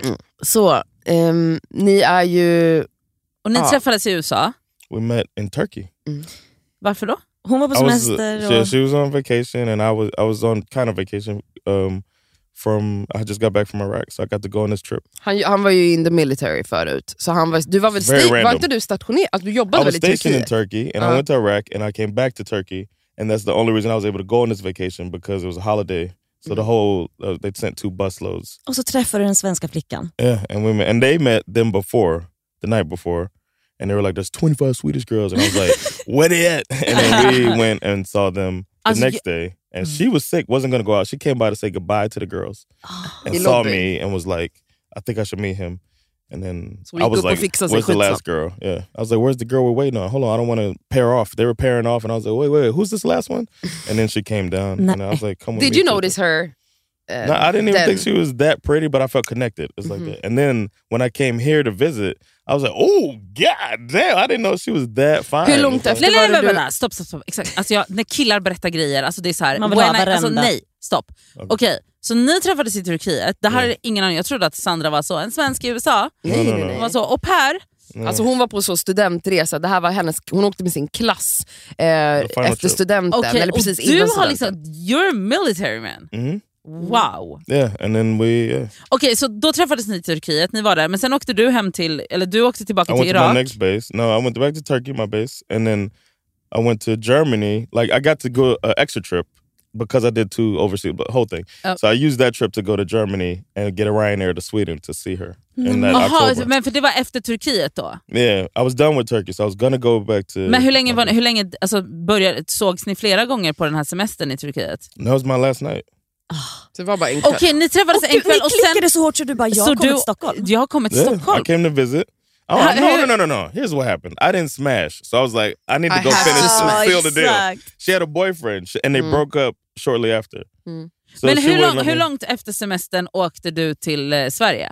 Speaker 4: Så, ehm, ni är ju...
Speaker 2: Och ni
Speaker 4: Ja.
Speaker 2: träffades i U S A.
Speaker 3: We met in Turkey.
Speaker 2: Varför då?
Speaker 5: Hon var på
Speaker 3: I was,
Speaker 5: semester
Speaker 3: she,
Speaker 5: och...
Speaker 3: she was on vacation and I was I was on kind of vacation um, from I just got back from Iraq, so I got to go on this trip.
Speaker 4: Han, han var ju in the military förut. Så han var, du var väl
Speaker 3: Very
Speaker 4: sta- var
Speaker 3: random.
Speaker 4: inte du stationerad? Alltså, du
Speaker 3: I
Speaker 4: jobbade
Speaker 3: was
Speaker 4: väl i
Speaker 3: stationed in
Speaker 4: Turkiet?
Speaker 3: Turkey and
Speaker 4: Uh-huh.
Speaker 3: I went to Iraq and I came back to Turkey, and that's the only reason I was able to go on this vacation, because it was a holiday. So the whole uh, they sent two busloads.
Speaker 5: Och så träffade du den svenska flickan.
Speaker 3: Yeah, and we met, and they met them before the night before, and they were like, "There's twenty-five Swedish girls," and I was like, "Where they at?" And then we went and saw them the
Speaker 2: Alltså,
Speaker 3: next day, and she was sick, wasn't gonna go out. She came by to say goodbye to the girls, and
Speaker 4: I
Speaker 3: saw
Speaker 4: lobby.
Speaker 3: me and was like, "I think I should meet him." And then
Speaker 4: So we
Speaker 3: I was
Speaker 4: go på
Speaker 3: like,
Speaker 4: fixa sig
Speaker 3: "Where's the
Speaker 4: skitsam."
Speaker 3: last girl?" Yeah, I was like, "Where's the girl we're waiting on? Hold on, I don't want to pair off." They were pairing off, and I was like, "Wait, wait, who's this last one?" And then she came down, and I was like, "Come with
Speaker 4: Did
Speaker 3: me
Speaker 4: you
Speaker 3: to
Speaker 4: notice
Speaker 3: the-"
Speaker 4: her? Uh,
Speaker 3: No, I didn't even
Speaker 4: then?
Speaker 3: think she was that pretty, but I felt connected. It's like
Speaker 4: Mhm.
Speaker 3: that. And then when I came here to visit, I was like, "Oh god damn! I didn't know she was that fine."
Speaker 4: Hur långt
Speaker 3: So-
Speaker 4: efter
Speaker 2: Nej, nej,
Speaker 4: var
Speaker 2: nej,
Speaker 4: det
Speaker 2: nej,
Speaker 4: du...
Speaker 2: nej. Stopp, stopp, stopp. Exakt. Alltså jag, när killar berättar grejer, alltså det är så här.
Speaker 5: Man vill ha
Speaker 2: when I, alltså,
Speaker 5: varenda.
Speaker 2: nej, stopp.
Speaker 3: Okej.
Speaker 2: Okej, så ni träffades i Turkiet. Det här
Speaker 3: Ja.
Speaker 2: är ingen aning. Jag trodde att Sandra var så. En svensk i U S A.
Speaker 4: Nej,
Speaker 3: No, no,
Speaker 4: nej,
Speaker 3: no.
Speaker 2: Hon var
Speaker 4: nej.
Speaker 2: så. Och Per,
Speaker 4: Alltså hon var på så studentresa, det här var hennes, hon åkte med sin klass eh,
Speaker 3: final
Speaker 4: efter
Speaker 3: trip.
Speaker 4: studenten,
Speaker 2: okej,
Speaker 4: eller
Speaker 2: och
Speaker 4: precis
Speaker 2: du
Speaker 4: innan
Speaker 2: har
Speaker 4: studenten.
Speaker 2: liksom, you're a military man.
Speaker 3: Mhm.
Speaker 2: Wow.
Speaker 3: Yeah, and then we. Yeah.
Speaker 2: Okej, så då träffades ni i Turkiet, ni var där. Men sen åkte du hem till, eller du åkte tillbaka
Speaker 3: I
Speaker 2: till
Speaker 3: went to my
Speaker 2: Irak.
Speaker 3: next base. No, I went back to Turkey, my base, and then I went to Germany. Like I got to go an extra trip because I did two overseas, but whole thing.
Speaker 2: Oh.
Speaker 3: So I used that trip to go to Germany and get a Ryanair to Sweden to see her in that
Speaker 2: Jaha,
Speaker 3: October.
Speaker 2: men för det var efter Turkiet då?
Speaker 3: Yeah, I was done with Turkey, so I was gonna go back to.
Speaker 2: Men hur länge, var, hur länge alltså, började, sågs ni flera gånger på den här semestern i Turkiet?
Speaker 3: That was my last night.
Speaker 4: Så det var bara en kväll.
Speaker 2: Okej, ni träffades
Speaker 5: Och
Speaker 2: en
Speaker 5: du,
Speaker 2: kväll
Speaker 5: ni
Speaker 2: och sen...
Speaker 5: klickade så hårt så du bara, jag
Speaker 2: så
Speaker 5: har kommit
Speaker 2: du,
Speaker 5: till Stockholm.
Speaker 2: Jag har kommit till
Speaker 3: Yeah, I
Speaker 2: Stockholm.
Speaker 3: came to visit. Oh,
Speaker 2: How-
Speaker 3: no,
Speaker 2: who-
Speaker 3: no, no, no, no. Here's what happened. I didn't smash. So I was like, I need to
Speaker 4: I
Speaker 3: go
Speaker 4: have
Speaker 3: finish
Speaker 4: to
Speaker 3: and
Speaker 4: smash.
Speaker 3: seal the deal.
Speaker 5: Exakt.
Speaker 3: She had a boyfriend, sh- and they
Speaker 4: Mm.
Speaker 3: broke up shortly after.
Speaker 4: Mm.
Speaker 3: So
Speaker 2: Men
Speaker 3: she
Speaker 2: hur,
Speaker 3: wouldn't
Speaker 2: lång,
Speaker 3: let
Speaker 2: hur
Speaker 3: me-
Speaker 2: långt efter semestern åkte du till eh, Sverige?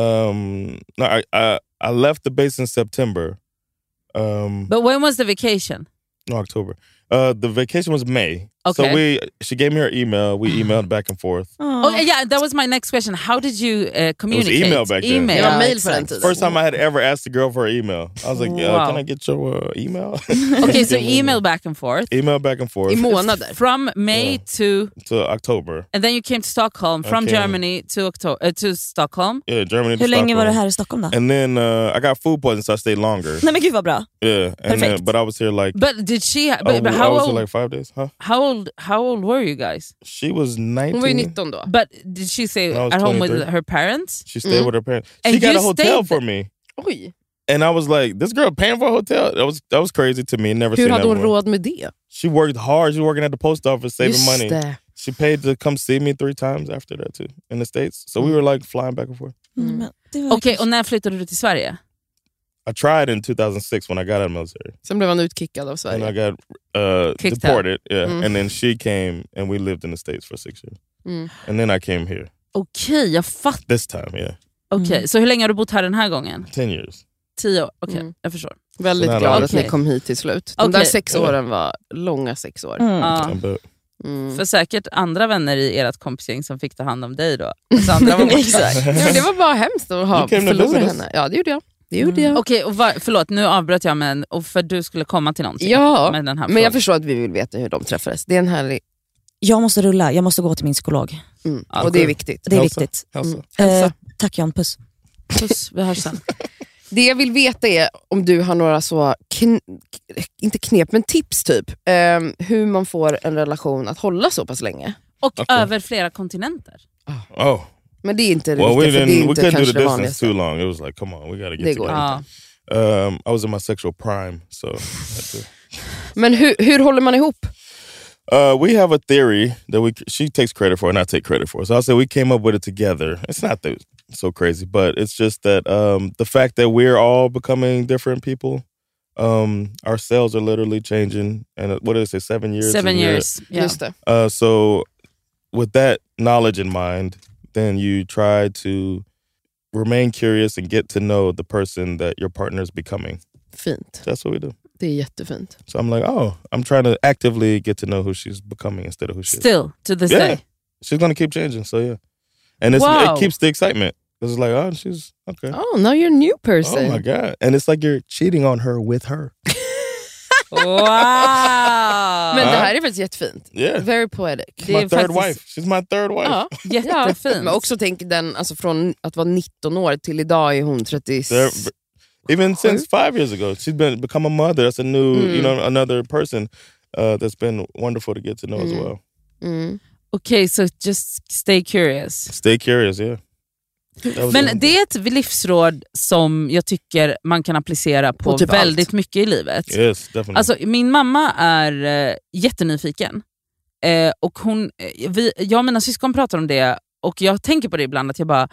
Speaker 3: Um, no, I, I I left the base in September. Um,
Speaker 2: But when was the vacation?
Speaker 3: no, October. Uh, the vacation was May. So
Speaker 2: Okay.
Speaker 3: we, she gave me her email. We emailed back and forth.
Speaker 2: Oh yeah, that was my next question. How did you uh, communicate?
Speaker 3: It was email back then.
Speaker 2: Email.
Speaker 4: Det var mail
Speaker 2: exakt.
Speaker 4: på den tiden.
Speaker 3: First time I had ever asked the girl for her email. I was like, yeah,
Speaker 2: Wow.
Speaker 3: can I get your uh, email?
Speaker 2: Okay, so email back and forth.
Speaker 3: Email back and forth.
Speaker 4: I månader.
Speaker 2: From May
Speaker 3: Yeah.
Speaker 2: to...
Speaker 3: To October.
Speaker 2: And then you came to Stockholm. From
Speaker 3: Okay.
Speaker 2: Germany to October, uh, to Stockholm.
Speaker 3: Yeah, Germany to
Speaker 5: Hur länge
Speaker 3: Stockholm.
Speaker 5: var du här i Stockholm då?
Speaker 3: And then uh, I got food poisoning, so I stayed longer.
Speaker 5: Nej men gud vad bra.
Speaker 3: Yeah, and
Speaker 5: Perfect.
Speaker 3: then, but I was here like,
Speaker 2: But did she...
Speaker 3: I,
Speaker 2: But, but
Speaker 3: I
Speaker 2: how
Speaker 3: was
Speaker 2: old...
Speaker 3: here like five days, huh?
Speaker 2: How old? How old were you guys?
Speaker 3: She was nineteen.
Speaker 4: Hon var ju nitton då.
Speaker 2: But did she stay
Speaker 3: I was
Speaker 2: at home with
Speaker 3: twenty-three.
Speaker 2: her parents?
Speaker 3: She stayed
Speaker 4: Mm.
Speaker 3: with her parents.
Speaker 2: And
Speaker 3: She got
Speaker 2: you
Speaker 3: a hotel
Speaker 2: stayed-
Speaker 3: for me.
Speaker 4: Oj.
Speaker 3: And I was like, this girl paying for a hotel? That was that was crazy to me. Never
Speaker 4: Hur
Speaker 3: seen
Speaker 4: hade
Speaker 3: that
Speaker 4: hon
Speaker 3: before.
Speaker 4: råd med det?
Speaker 3: She worked hard. She was working at the post office, saving
Speaker 4: Just
Speaker 3: money.
Speaker 4: det.
Speaker 3: She paid to come see me three times after that too, in the States. So we were like flying back and forth.
Speaker 5: Mm. Men det var
Speaker 2: Okej, okay,
Speaker 5: kanske-
Speaker 2: och när flyttade du till Sverige?
Speaker 3: I tried in two thousand six when I got out of the military.
Speaker 4: Sen blev han utkickad av
Speaker 3: And I
Speaker 4: Sverige.
Speaker 3: got uh,
Speaker 2: Kicked
Speaker 3: deported. Yeah.
Speaker 4: Mm.
Speaker 3: And then she came and we lived in the States for six years.
Speaker 4: Mm.
Speaker 3: And then I came here.
Speaker 2: Okej, jag fattar.
Speaker 3: This time, yeah.
Speaker 2: Okej,
Speaker 5: Mm.
Speaker 2: så hur länge har du bott här den här gången?
Speaker 3: Ten years.
Speaker 2: Tio år? Okej,
Speaker 4: Mm.
Speaker 2: jag förstår.
Speaker 4: Väldigt
Speaker 3: Så
Speaker 4: glad
Speaker 3: nära.
Speaker 4: att ni
Speaker 2: Okej.
Speaker 4: kom hit till slut. De
Speaker 2: Okej.
Speaker 4: där sex åren var långa sex år.
Speaker 5: Mm.
Speaker 2: Ja.
Speaker 3: But
Speaker 4: Mm.
Speaker 2: För säkert andra vänner i ert kompisgäng som fick ta hand om dig då. Så andra var borta.
Speaker 5: Exakt.
Speaker 4: Ja, det var bara hemskt att ha
Speaker 3: You came to
Speaker 4: förlorat
Speaker 3: visit us.
Speaker 4: henne. Ja, det gjorde jag. Det gjorde jag.
Speaker 2: Okej, och var, förlåt, nu avbröt jag men och för du skulle komma till någonting
Speaker 4: Ja,
Speaker 2: med den här
Speaker 4: men jag
Speaker 2: frågan.
Speaker 4: förstår att vi vill veta hur de träffades. Det är en härlig...
Speaker 5: Jag måste rulla, jag måste gå till min psykolog.
Speaker 4: Mm.
Speaker 2: Ja,
Speaker 4: och det är
Speaker 3: cool.
Speaker 4: viktigt.
Speaker 5: Det är
Speaker 3: Hälsa.
Speaker 5: viktigt.
Speaker 3: Hälsa.
Speaker 4: Mm. Hälsa.
Speaker 5: Eh, tack Jan, puss.
Speaker 2: Puss, vi hörs sen.
Speaker 4: Det jag vill veta är om du har några så, kn- inte knep, men tips typ. Um, hur man får en relation att hålla så pass länge.
Speaker 2: Och
Speaker 3: Okej.
Speaker 2: över flera kontinenter.
Speaker 3: Oh.
Speaker 4: Men det är inte det
Speaker 3: Well, we
Speaker 4: viktiga, för det är
Speaker 3: didn't. We
Speaker 4: inte
Speaker 3: couldn't do
Speaker 4: kanske
Speaker 3: the
Speaker 4: det
Speaker 3: distance
Speaker 4: vanligaste.
Speaker 3: too long. It was like, come on, we gotta get
Speaker 4: Det går
Speaker 3: together.
Speaker 2: Ja.
Speaker 3: Um, I was in my sexual prime, so. I had to-
Speaker 4: Men hur, hur håller man ihop?
Speaker 3: Uh, we have a theory that we she takes credit for and I take credit for. So I'll say we came up with it together. It's not that so crazy, but it's just that um, the fact that we're all becoming different people. Um, our cells are literally changing, and uh, what did I say? Seven years.
Speaker 2: Seven
Speaker 3: a year.
Speaker 2: years. Yeah.
Speaker 4: Just det.
Speaker 3: Uh, so with that knowledge in mind, then you try to remain curious and get to know the person that your partner is becoming.
Speaker 4: Fint.
Speaker 3: That's what we do.
Speaker 4: Det är jättefint.
Speaker 3: So I'm like, oh, I'm trying to actively get to know who she's becoming instead of who she is.
Speaker 2: Still, to this
Speaker 3: Yeah,
Speaker 2: day.
Speaker 3: she's gonna keep changing. So yeah, and it's,
Speaker 2: Wow.
Speaker 3: it keeps the excitement. It's like, oh, she's okay.
Speaker 4: Oh, now you're a new person.
Speaker 3: Oh my god! And it's like you're cheating on her with her.
Speaker 2: Wow!
Speaker 4: Men det här är faktiskt jättefint.
Speaker 3: Yeah,
Speaker 4: Very poetic.
Speaker 2: Det är
Speaker 3: my third
Speaker 2: faktiskt-
Speaker 3: wife. She's my third wife.
Speaker 4: Ja.
Speaker 2: Jättefint.
Speaker 4: Men också tänk den, alltså från att vara nitton år till idag är hon trettio.
Speaker 3: They're- Even since five years ago, she's been become a mother. That's a new,
Speaker 4: Mm.
Speaker 3: you know, another person uh, that's been wonderful to get to know
Speaker 4: Mm.
Speaker 3: as well.
Speaker 4: Mm.
Speaker 2: Okej, so just stay curious.
Speaker 3: Stay curious, yeah. That was
Speaker 2: Men
Speaker 3: it.
Speaker 2: det är ett livsråd som jag tycker man kan applicera på,
Speaker 4: På typ
Speaker 2: väldigt
Speaker 4: allt.
Speaker 2: mycket i livet.
Speaker 3: Yes, definitely.
Speaker 2: Alltså, min mamma är eh, jättenyfiken. Eh, och hon, eh, vi, jag och mina syskon pratar om det och jag tänker på det ibland att jag bara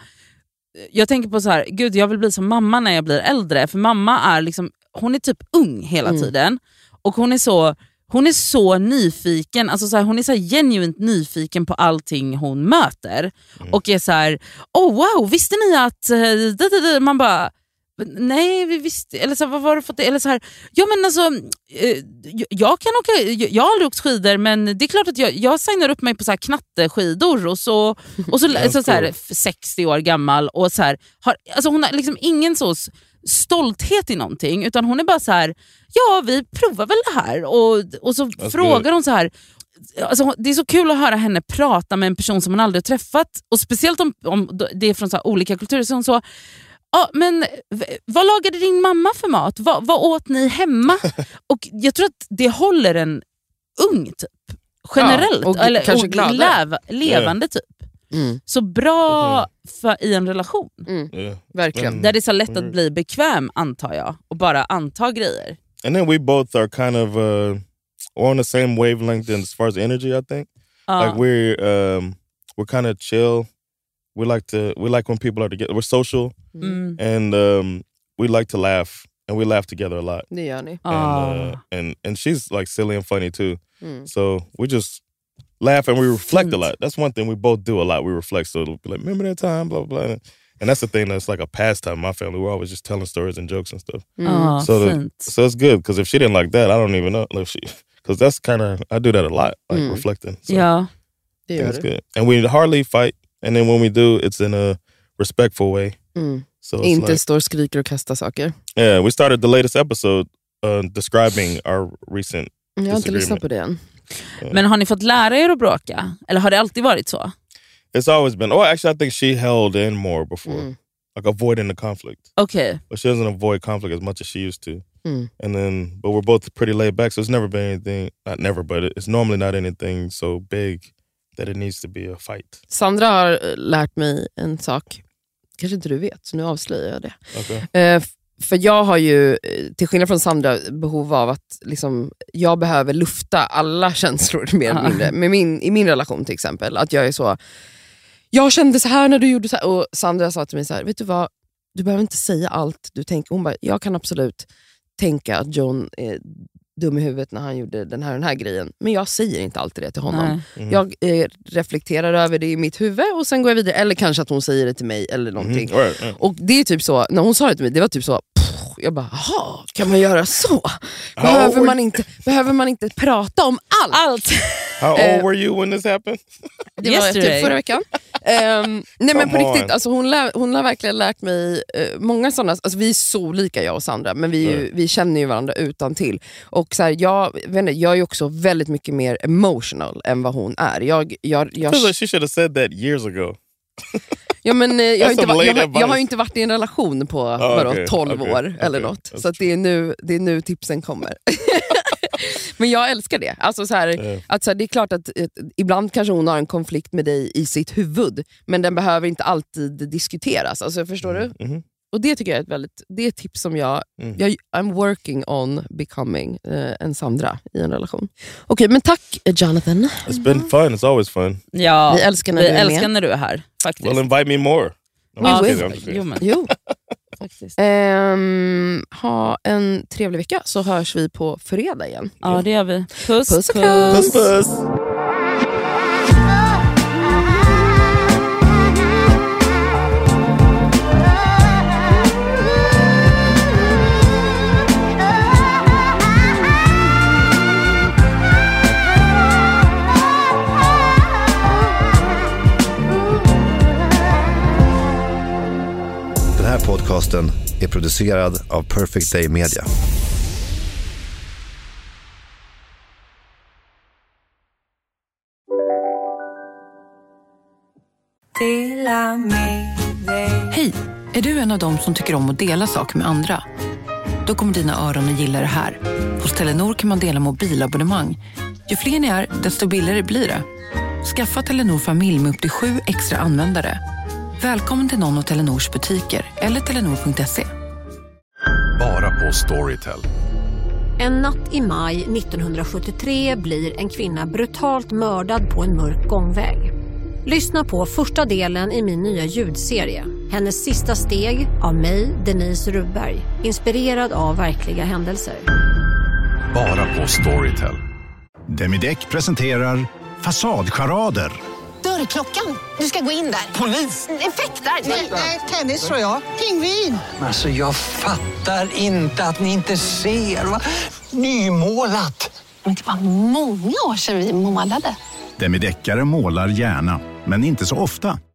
Speaker 2: jag tänker på så här, gud jag vill bli som mamma när jag blir äldre, för mamma är liksom, hon är typ ung hela
Speaker 4: Mm.
Speaker 2: tiden och hon är så hon är så nyfiken, alltså så här, hon är så här genuint nyfiken på allting hon möter
Speaker 3: Mm.
Speaker 2: och är så här, oh wow, visste ni att eh, det, det, det. Man bara nej, vi visste, eller så här, vad var det för det? Eller så här, ja men alltså eh, jag- jag kan åka, jag, jag har aldrig åkt skidor men det är klart att jag, jag signar upp mig på så här knatteskidor och så, och så,
Speaker 3: That's
Speaker 2: så, så här,
Speaker 3: cool.
Speaker 2: sextio år gammal och så här, har, alltså hon har liksom ingen så s- stolthet i någonting utan hon är bara så här, ja vi provar väl det här och, och så
Speaker 3: That's
Speaker 2: frågar
Speaker 3: good.
Speaker 2: hon så här. Alltså, hon- det är så kul att höra henne prata med en person som hon aldrig har träffat och speciellt om, om det är från så här olika kulturer. Så hon så, ja, men v- vad lagade din mamma för mat? Vad, vad åt ni hemma? Och jag tror att det håller en ung typ. Generellt.
Speaker 4: Ja, och
Speaker 2: eller,
Speaker 4: kanske
Speaker 2: och
Speaker 4: gladare.
Speaker 2: lev, levande typ.
Speaker 4: Mm.
Speaker 2: Så bra för, i en relation.
Speaker 4: Mm.
Speaker 3: yeah.
Speaker 4: Verkligen.
Speaker 3: Mm.
Speaker 2: Där det är så lätt att
Speaker 3: Mm.
Speaker 2: bli bekväm antar jag. Och bara anta grejer.
Speaker 3: And then we both are kind of uh, on the same wavelength in as far as energy. I think
Speaker 2: Ja.
Speaker 3: like we're um, we're kind of chill. We like to we like when people are together. We're social
Speaker 2: Mm.
Speaker 3: and um, we like to laugh and we laugh together a lot.
Speaker 4: Det gör ni.
Speaker 3: And,
Speaker 2: Ah.
Speaker 3: uh, and and she's like silly and funny too.
Speaker 4: Mm.
Speaker 3: So we just laugh and we reflect a
Speaker 2: Fint.
Speaker 3: lot. That's one thing we both do a lot. We reflect. So it'll be like, remember that time, blah blah blah. And that's the thing that's like a pastime in my family. We're always just telling stories and jokes and stuff.
Speaker 4: Mm.
Speaker 2: Ja,
Speaker 3: So, the,
Speaker 2: fint.
Speaker 3: so it's good because if she didn't like that, I don't even know. If she, Because that's kind of, I do that a lot, like mm. reflecting. So
Speaker 2: yeah.
Speaker 3: That's good. And we hardly fight. And then when we do, it's in a respectful way.
Speaker 4: Mm.
Speaker 3: So
Speaker 4: Inte like, står, skriker och kastar saker.
Speaker 3: Yeah, we started the latest episode uh, describing our recent
Speaker 4: Jag har inte lyssnat på det än.
Speaker 2: Yeah. Men har ni fått lära er att bråka? Eller har det alltid varit så?
Speaker 3: It's always been. Oh, actually, I think she held in more before. Mm. Like avoiding the conflict.
Speaker 2: Okay.
Speaker 3: But she doesn't avoid conflict as much as she used to.
Speaker 4: Mm.
Speaker 3: And then, but we're both pretty laid back, so it's never been anything, not never, but it's normally not anything so big that it needs to be a fight.
Speaker 4: Sandra har lärt mig en sak, kanske inte du vet, så nu avslöjar jag det.
Speaker 3: Okay.
Speaker 4: Uh, för jag har ju, till skillnad från Sandra, behov av att liksom, jag behöver lufta alla känslor mer eller mindre. Med min, i min relation till exempel, att jag är så, jag kände så här när du gjorde så här, och Sandra sa till mig så här, vet du vad, du behöver inte säga allt du tänker. Hon bara, jag kan absolut tänka att John är dum i huvudet när han gjorde den här den här grejen. Men jag säger inte alltid det till honom. Mm. Jag eh, reflekterar över det i mitt huvud och sen går jag vidare. Eller kanske att hon säger det till mig eller någonting.
Speaker 3: Mm. Right, right.
Speaker 4: Och det är typ så, när hon sa det till mig, det var typ så, pff, jag bara, jaha, kan man göra så? Behöver man inte, behöver man inte prata om allt?
Speaker 2: Allt.
Speaker 3: How old were you when this happened?
Speaker 4: Det var typ förra veckan. Um, nej men på riktigt, alltså hon, lär, hon har verkligen lärt mig uh, många sådana, alltså vi är så olika jag och Sandra, men vi, mm. vi känner ju varandra utan till. Och så här, jag, vet inte, jag är ju också väldigt mycket mer emotional än vad hon är. Jag, jag, jag...
Speaker 3: I feel like she should have said that years ago.
Speaker 4: Ja, men, eh, jag, har inte va- jag, har, jag har ju inte varit i en relation på oh, vadå, okay, tolv okay, år okay, eller något. Så att det, är nu, det är nu tipsen kommer. Men jag älskar det. Alltså så här, yeah. att så här, det är klart att ett, ibland kanske hon har en konflikt med dig i sitt huvud, men den behöver inte alltid diskuteras. Alltså, förstår
Speaker 3: mm.
Speaker 4: du?
Speaker 3: Mm-hmm.
Speaker 4: Och det tycker jag är ett väldigt, det är ett tips som jag, mm. jag I'm working on becoming uh, en Sandra i en relation. Okej, okay, men tack Jonathan.
Speaker 3: It's been fun, it's always fun.
Speaker 2: Ja,
Speaker 4: vi älskar när,
Speaker 2: vi
Speaker 4: du, är
Speaker 2: älskar när du är här, faktiskt.
Speaker 3: Well, invite me more.
Speaker 4: No,
Speaker 2: we
Speaker 4: will.
Speaker 2: Jo, men.
Speaker 4: Jo. Faktiskt. Um, ha en trevlig vecka så hörs vi på fredag igen.
Speaker 2: Ja, det gör vi. Puss,
Speaker 4: puss.
Speaker 3: Puss, puss.
Speaker 12: Den här podcasten är producerad av Perfect Day Media.
Speaker 11: Hej, är du en av dem som tycker om att dela saker med andra? Då kommer dina öron att gilla det här. Hos Telenor kan man dela mobilabonnemang. Ju fler ni är, desto billigare blir det. Skaffa Telenor familj med upp till sju extra användare. Välkommen till någon av Telenors butiker eller telenor punkt se.
Speaker 13: Bara på Storytel.
Speaker 14: En natt i maj nittonhundrasjuttiotre blir en kvinna brutalt mördad på en mörk gångväg. Lyssna på första delen i min nya ljudserie. Hennes sista steg av mig, Denise Rubberg. Inspirerad av verkliga händelser.
Speaker 13: Bara på Storytel.
Speaker 15: Demideck presenterar Fasadcharader.
Speaker 16: Dörrklockan. Du ska gå in där.
Speaker 17: Polis?
Speaker 16: Effektar?
Speaker 17: Nej, tennis tror jag. Pingvin.
Speaker 18: Alltså jag fattar inte att ni inte ser. Va? Nymålat.
Speaker 16: Men det var många år sedan vi målade.
Speaker 15: Demideckare målar gärna, men inte så ofta.